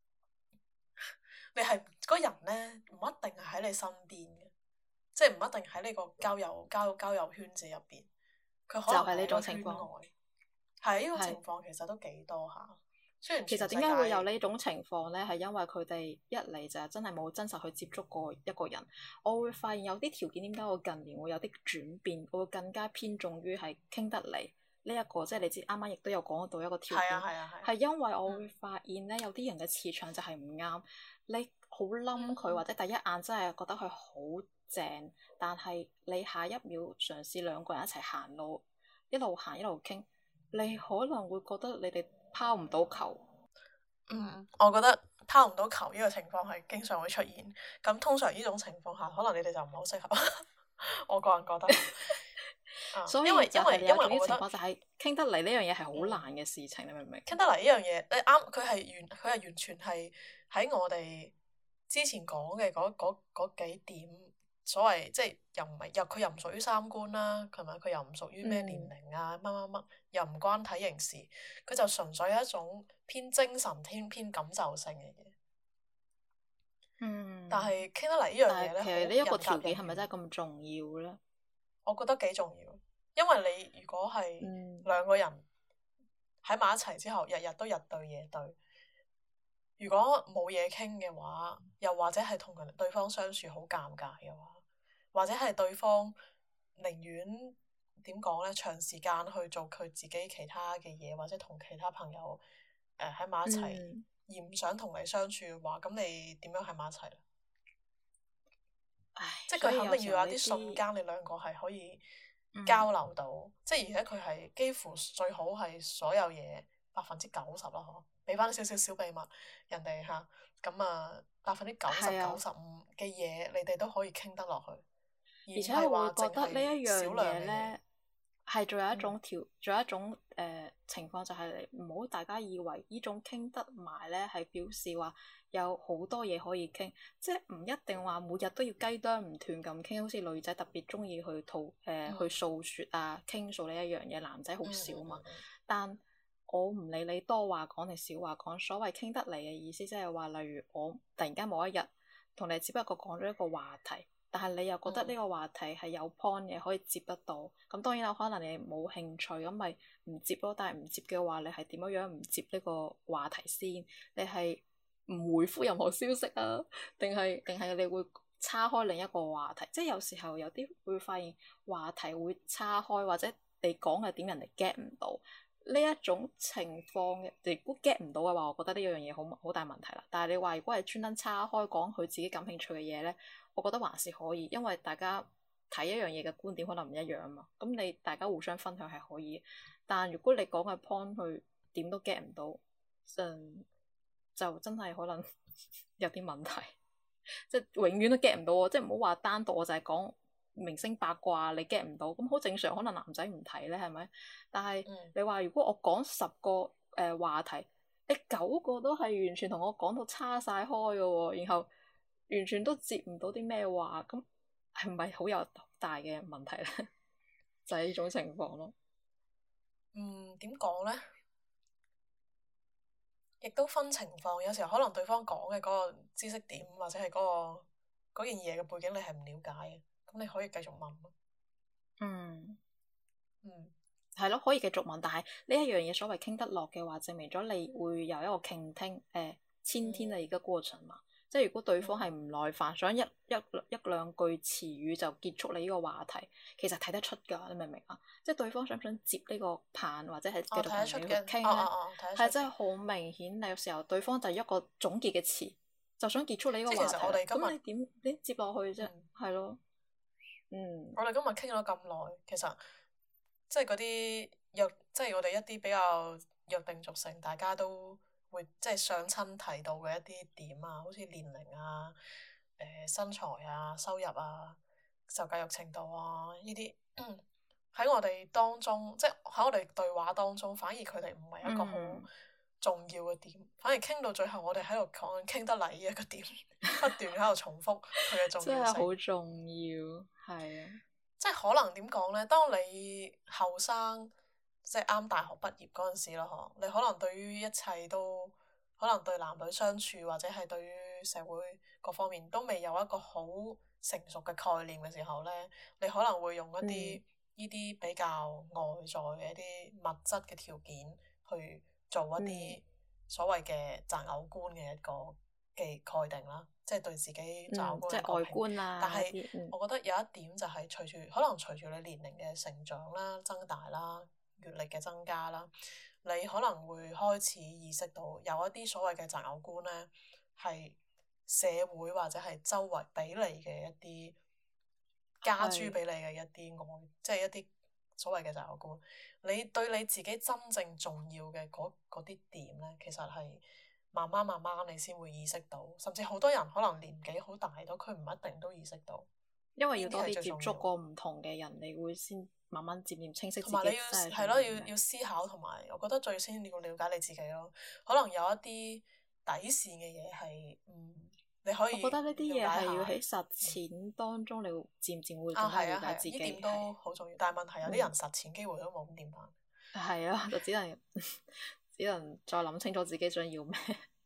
[SPEAKER 1] 你係嗰人咧唔一定係喺你身邊嘅。即係唔一定喺呢個交友圈子入邊，佢可能
[SPEAKER 2] 就係呢
[SPEAKER 1] 係喺個圈
[SPEAKER 2] 種情況，
[SPEAKER 1] 外。係呢種情
[SPEAKER 2] 係。
[SPEAKER 1] 況其實都幾多下。雖然
[SPEAKER 2] 其實
[SPEAKER 1] 全世
[SPEAKER 2] 點解會有
[SPEAKER 1] 界
[SPEAKER 2] 呢種情況呢？係因為佢哋一嚟就係真係冇真實去接觸過一個人。我會發現有啲條件點解我近年會有啲轉變，我會更加偏重於係傾得嚟呢一個。即係你知啱啱亦都有講到一個條
[SPEAKER 1] 係啊
[SPEAKER 2] 件，
[SPEAKER 1] 係啊係啊。
[SPEAKER 2] 係因為我會
[SPEAKER 1] 嗯
[SPEAKER 2] 發現呢，有啲人嘅磁場就係唔啱。你好冧佢，或
[SPEAKER 1] 嗯
[SPEAKER 2] 者第一眼真係覺得佢好正，但係你下一秒嘗試兩個人一齊行路，一路行一路傾，你可能會覺得你哋拋唔到球。
[SPEAKER 1] 我覺得拋唔到球呢個情況係經常會出現。咁通常呢種情況下，可能你哋就唔係好適合。我個人覺得，
[SPEAKER 2] 所
[SPEAKER 1] 因為因
[SPEAKER 2] 以就係你有種
[SPEAKER 1] 為因為我覺得
[SPEAKER 2] 情況，就係傾得嚟呢樣嘢係好難嘅事情，你明唔明？
[SPEAKER 1] 傾得嚟呢樣嘢，你啱，佢係完全係喺我哋之前講嘅嗰幾點，所謂即係又唔係佢又唔屬於三觀啦，係咪？佢又唔屬於咩年
[SPEAKER 2] 嗯，
[SPEAKER 1] 齡啊乜乜乜，又唔關體型事，佢就純粹係一種偏精神、偏感受性嘅嘢。但
[SPEAKER 2] 嗯，
[SPEAKER 1] 係傾得嚟呢樣嘢咧，
[SPEAKER 2] 但係其
[SPEAKER 1] 好
[SPEAKER 2] 實呢一個
[SPEAKER 1] 人
[SPEAKER 2] 條件係咪
[SPEAKER 1] 格人緣，
[SPEAKER 2] 真係咁重要咧？
[SPEAKER 1] 我覺得幾重要，因為你如果係
[SPEAKER 2] 嗯，
[SPEAKER 1] 兩個人喺埋一齊之後，日日都日對夜對。如果冇嘢傾嘅話，又或者係同對方相處好尷尬嘅話，或者係對方寧願點講呢？長時間去做佢自己其他嘅嘢，或者同其他朋友喺埋一齊，
[SPEAKER 2] 嗯，
[SPEAKER 1] 而唔想同你相處嘅話，咁你點樣喺埋一齊咧？
[SPEAKER 2] 唉，
[SPEAKER 1] 即係
[SPEAKER 2] 所以
[SPEAKER 1] 佢肯定
[SPEAKER 2] 有時候呢
[SPEAKER 1] 要有啲瞬
[SPEAKER 2] 啲，
[SPEAKER 1] 間，你兩個係可以
[SPEAKER 2] 嗯，
[SPEAKER 1] 交流到，即係而且佢係幾乎最好係所有嘢90%啦，嗬，俾翻少少小秘密人哋嚇，咁啊90%、
[SPEAKER 2] 係啊。
[SPEAKER 1] 95%嘅嘢，你哋都可以傾得落去，而
[SPEAKER 2] 而
[SPEAKER 1] 唔係
[SPEAKER 2] 且我會
[SPEAKER 1] 話淨
[SPEAKER 2] 覺得呢一樣
[SPEAKER 1] 係少量嘅嘢。
[SPEAKER 2] 嘢呢，係仲有一
[SPEAKER 1] 嗯
[SPEAKER 2] 種仲有一種情況，就係你唔好大家以為呢種傾得埋呢係表示話有好多嘢可以傾，即係唔一定話每日都要雞啄唔斷咁傾，好似女仔特別中意去
[SPEAKER 1] 嗯
[SPEAKER 2] 訴説啊傾訴呢一樣嘢，男仔好
[SPEAKER 1] 嗯
[SPEAKER 2] 少嘛。
[SPEAKER 1] 嗯嗯
[SPEAKER 2] 但我唔理你多話講定少話講，所謂傾得嚟嘅意思，即係話例如我突然間某一日同你只不過講咗一個話題。但係你又覺得呢
[SPEAKER 1] 嗯
[SPEAKER 2] 個話題係有 point 嘅，可以接得到。咁當然啦，可能你冇興趣，咁咪唔接咯。但係唔接嘅話，你係點樣樣唔接呢個話題先？你係唔回覆任何消息啊？定係你會岔開另一個話題，即係有時候有啲會發現話題會岔開，或者你講嘅點人哋 get 唔到呢一種情況，你如果 get 唔到嘅話，我覺得呢樣嘢好大問題啦。但係你話如果係專登岔開講佢自己感興趣嘅嘢咧，我覺得還是可以，因為大家睇一樣嘢嘅觀點可能唔一樣啊嘛。咁你大家互相分享係可以，但如果你講嘅 point 佢點都 get 唔到，就真係可能有啲問題。即係永遠都 get 唔到喎，即係唔好話單獨我就係講明星八卦，你 get 唔到，咁好正常，可能男仔唔睇咧，係咪？但係你話如果我講10個話題，你9個都係完全同我講到叉晒開嘅喎，然後完全都接唔到啲咩話，咁係咪好有大嘅問題咧？就係呢種情況咯。
[SPEAKER 1] 點講咧？亦都分情況，有時候可能對方講嘅嗰個知識點或者係嗰件嘢嘅背景你係唔了解嘅，咁你可以繼續問咯。
[SPEAKER 2] 嗯，
[SPEAKER 1] 嗯，
[SPEAKER 2] 係咯，可以繼續問，但係呢一樣嘢所謂傾得落嘅話，證明咗你會有一個傾聽傾聽嘅一個過程嘛。即係如果對方係唔耐煩，想一兩句詞語就結束你呢個話題，其實睇得出㗎，你明唔明啊？即係對方想唔想接呢個棒，或者係繼續同你去傾咧，係真係好明顯。有時候對方就一個總結嘅詞，就想結束你呢個話題。咁你點接落去啫？係咯，
[SPEAKER 1] 我哋今日傾咗咁耐，其實即係嗰啲即係我哋一啲比較約定俗成，大家都會即係上親提到嘅一啲點啊，好似年齡啊、身材啊、收入啊、受教育程度啊呢啲，喺我哋當中，即係喺我哋對話當中，反而佢哋唔係一個好重要嘅點，反而傾到最後，我哋喺度講緊傾得嚟呢一個點，不斷喺度重複佢嘅重要性。
[SPEAKER 2] 真係好重要，係啊。
[SPEAKER 1] 即係可能點講咧？當你後生，即係啱大學畢業嗰陣時咯，嗬，你可能對於一切都，可能對男女相處或者係對於社會各方面都未有一個好成熟嘅概念嘅時候咧，你可能會用一啲呢啲比較外在嘅一啲物質嘅條件去做一啲所謂嘅擇偶觀嘅一個嘅概定啦，即係對自己擇偶觀
[SPEAKER 2] 即係外觀啊。
[SPEAKER 1] 但係我覺得有一點就係隨住你年齡嘅成長啦、增大啦、閱歷嘅增加啦，你可能會開始意識到有一啲所謂嘅擇偶觀咧，係社會或者係周圍俾你嘅一啲加諸俾你嘅一啲愛，即係一啲所謂嘅擇偶觀。你對你自己真正重要嘅嗰啲點咧，其實係慢慢你先會意識到，甚至好多人可能年紀好大咗，佢唔一定都意識到。
[SPEAKER 2] 因為要多啲接觸過唔同嘅人，你會先慢慢漸漸清晰自己。
[SPEAKER 1] 同埋你係咯，要思考，同埋我覺得最先要了解你自己咯。可能有一啲底線嘅嘢係你可以。
[SPEAKER 2] 我覺得呢啲嘢係要喺實踐當中，你會漸漸會更加了解自己。
[SPEAKER 1] 呢點都好重要，但係問題有啲人實踐機會都冇，咁點辦？
[SPEAKER 2] 係啊，就只能再諗清楚自己想要咩。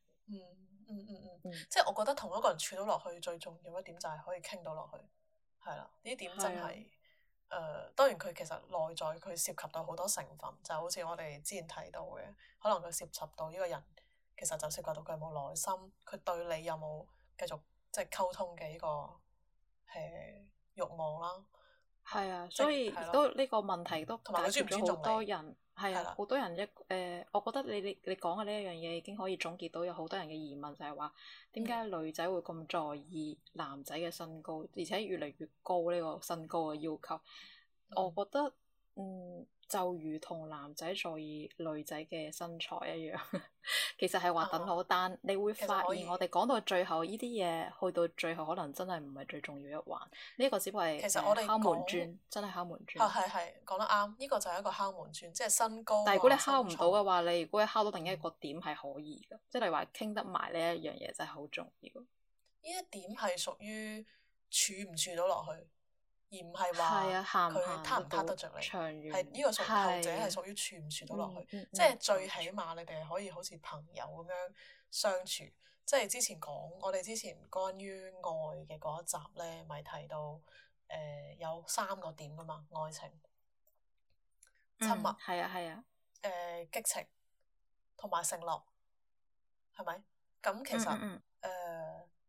[SPEAKER 1] 即係我覺得同一個人處到落去最重要一點就係可以傾到落去。係啦，呢點真係當然佢其實內在佢涉及到好多成分，就好似我哋之前提到嘅，可能佢涉及到呢個人其實就涉及到佢有冇耐心，佢對你有冇繼續即係溝通嘅呢個慾望啦。
[SPEAKER 2] 係啊，所以都呢個問題都解決咗好多人。係啊，好多人我覺得你講嘅呢一樣嘢已經可以總結到有好多人嘅疑問，就係話點解女仔會咁在意男仔嘅身高，而且越嚟越高呢個身高嘅要求。我覺得就如同男仔在意女仔嘅身材一樣，其實係話等好，但你會發現我哋講到最後呢啲嘢，去到最後可能真係唔係最重要一環。呢個只不過係敲門磚，真係敲門磚。
[SPEAKER 1] 係講得啱，呢個就係一個敲門磚，即係身高。
[SPEAKER 2] 但係如果你敲唔到嘅話，你如果你敲到另一個點係可以嘅，即係你話傾得埋呢一樣嘢真係好重要。
[SPEAKER 1] 呢一點係屬於處唔處到落去。而唔係話佢撻唔撻得着你，係呢個後者係屬於處唔處到落去，即係最起碼你哋係可以好似朋友咁樣相處。即係之前關於愛嘅嗰一集咧，咪提到有3個點噶嘛，愛情、親密，
[SPEAKER 2] 係啊，
[SPEAKER 1] 激情同埋承諾，係咪？咁其實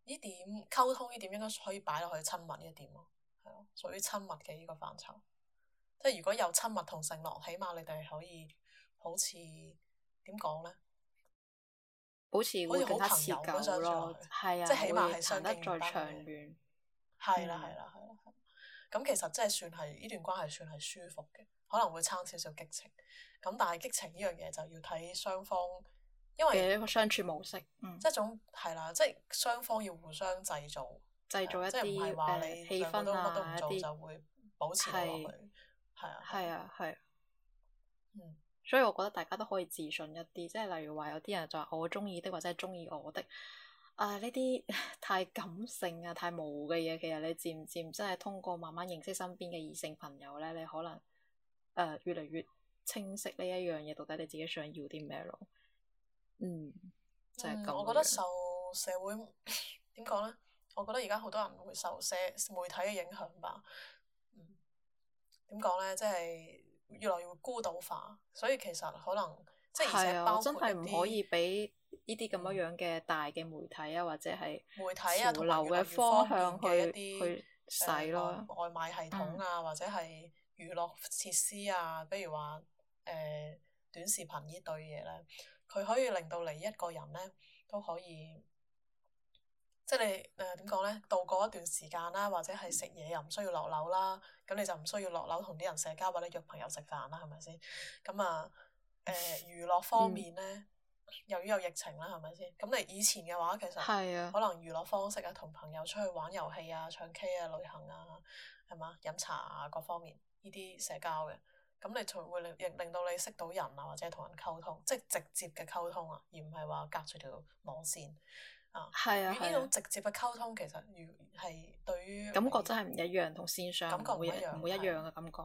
[SPEAKER 1] 呢點溝通呢點應該可以擺落去親密呢一點咯，係咯，屬於親密嘅呢個範疇。即係如果有親密同承諾，起碼你哋可以好似點講咧？
[SPEAKER 2] 保持會更加持久咯，係啊，
[SPEAKER 1] 即係起碼係
[SPEAKER 2] 行得再長
[SPEAKER 1] 遠。
[SPEAKER 2] 遠。
[SPEAKER 1] 係啦，係啦，係啦，咁其實真係算係呢段關係算係舒服嘅，可能會差少少激情。咁但係激情呢樣嘢就要睇雙方，因為
[SPEAKER 2] 嘅一個相處模式，
[SPEAKER 1] 即係種係啦，即係雙方要互相製造
[SPEAKER 2] 一啲
[SPEAKER 1] 即係唔係話你
[SPEAKER 2] 氣氛
[SPEAKER 1] 乜都唔做
[SPEAKER 2] 一啲
[SPEAKER 1] 就會保持落去，係啊，
[SPEAKER 2] 係啊，係。所以我覺得大家都可以自信一啲，即係例如話有啲人就話我中意的或者係中意我的，呢啲太感性啊、太模糊嘅嘢，其實你漸漸真係通過慢慢認識身邊嘅異性朋友咧，你可能越嚟越清晰呢一樣嘢，到底你自己想要啲咩咯。就係咁。
[SPEAKER 1] 我覺得受社會點講咧？我覺得而家好多人會受媒體嘅影響吧。點講咧？即係越來越孤島化，所以其實可能即係而且包括
[SPEAKER 2] 真係唔可以俾呢啲咁樣嘅大嘅媒體啊，或者係
[SPEAKER 1] 媒體啊，
[SPEAKER 2] 潮流嘅方向去使咯。
[SPEAKER 1] 外賣系統啊，或者係娛樂設施啊，比如話短視頻呢對嘢咧，佢可以令到你一個人咧都可以。即係你點講咧？度過一段時間啦，或者係食嘢又唔需要落樓啦，咁你就唔需要落樓同啲人社交或者約朋友食飯啦，係咪先？咁娛樂方面咧，由於有疫情啦，係咪先？咁你以前嘅話，其實可能娛樂方式啊，同朋友出去玩遊戲啊、唱 K 啊、旅行啊，係嘛？飲茶啊，各方面呢啲社交嘅，咁你就會令到你識到人啊，或者同人溝通，即係直接嘅溝通啊，而唔係話隔住條網線。與呢種直接嘅溝通，其實係對於
[SPEAKER 2] 感覺真係唔一樣，同線上
[SPEAKER 1] 感覺唔一
[SPEAKER 2] 樣嘅感覺。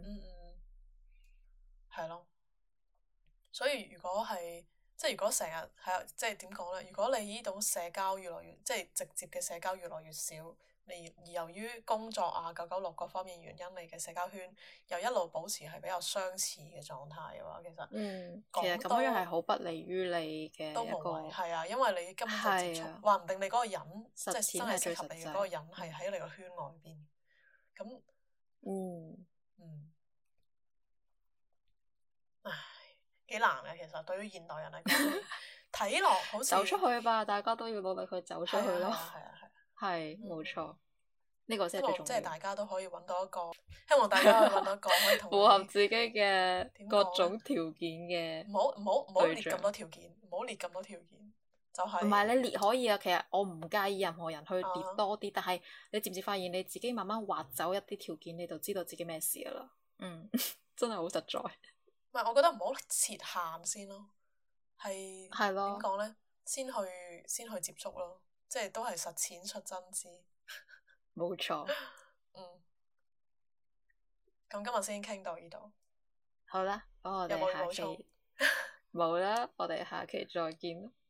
[SPEAKER 1] 係咯。所以如果係即係如果成日係即係點講咧？如果你呢種社交越來越即係直接嘅社交越來越少，而由於工作啊、996各方面原因，你嘅社交圈又一路保持係比較相似嘅狀態嘅話，其實
[SPEAKER 2] 咁樣係好不利於你嘅
[SPEAKER 1] 都無謂。係啊，因為你根本就接觸，話唔定你嗰個人即係真係適合你嘅嗰個人係喺你個圈外邊。咁唉，幾難嘅其實對於現代人嚟講，睇落好似
[SPEAKER 2] 走出去吧，大家都要努力去走出去咯。係冇錯，呢個先係最重要。
[SPEAKER 1] 即係大家都可以揾到一個，希望大家可以揾到一個可以同
[SPEAKER 2] 符合自己嘅各種條件嘅。
[SPEAKER 1] 唔好列咁多條件，唔好列咁多條件，就係。
[SPEAKER 2] 唔係你列可以啊，其實我唔介意任何人去列多啲，但係你漸漸發現你自己慢慢劃走一啲條件，你就知道自己咩事噶啦。真係好實在。
[SPEAKER 1] 唔係，我覺得唔好設限先咯，係點講咧？先去接觸咯。即係都係實踐出真知，
[SPEAKER 2] 冇錯。
[SPEAKER 1] 咁今日先傾到呢度。
[SPEAKER 2] 好啦，我哋下期冇啦，我哋下期再見咯。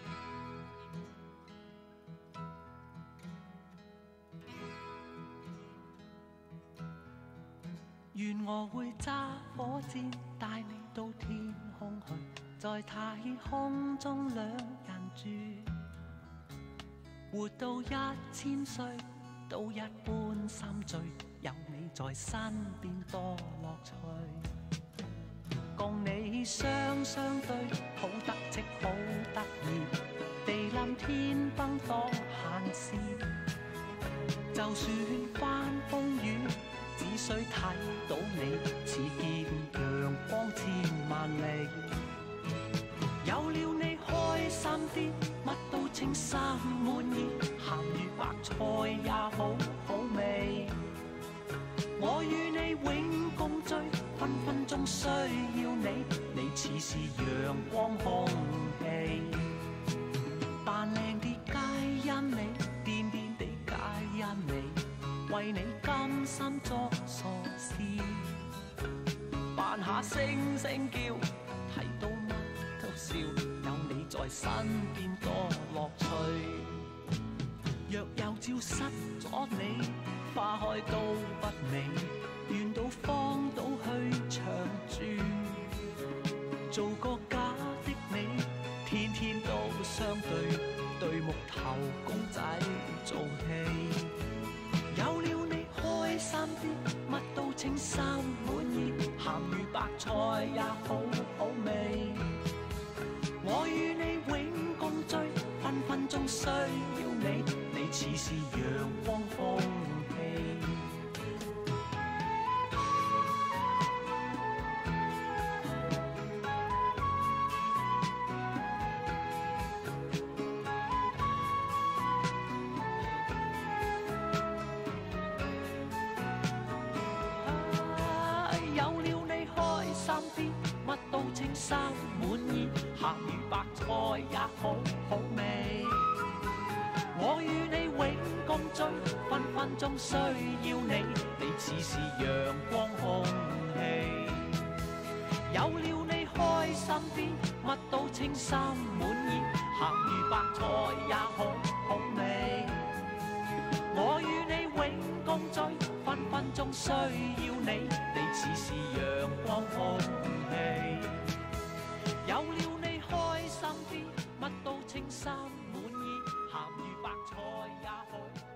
[SPEAKER 3] 願我會揸火箭帶你到天空去，在太空中兩人住。活到1000歲，都一般心醉，有你在身邊多樂趣。共你雙對，好得戚好得意，地冧天崩當閒事。就算翻風雨，只需睇到你，似見陽光千萬里。有了你開心啲，乜都稱心滿意，鹹魚白菜也好好味。我與你永共聚，分分鐘需要你，你似是陽光空氣。扮靚啲皆因你，癲癲地皆因你，為你甘心作傻事，扮下聲聲叫，睇到乜都笑，有你在身邊多樂趣。若有朝失咗你，花開都不美，願到荒島去長住，做個假的你，天天都相對，對木頭公仔。 稱心滿意，鹹魚白菜也好好味。我與你永共聚，分分鐘需要你，你似是陽光空氣。有了你開心啲，乜都稱心滿意，鹹魚白菜也好好味。我與你永共聚，分分鐘需要你，你似是陽光空氣。有了你開心啲，乜都稱心滿意，鹹魚白菜也好好味。我與你永共聚，分分鐘需要你，你似是陽光空氣。有了你開心啲，乜都稱心滿意，鹹魚白菜也好。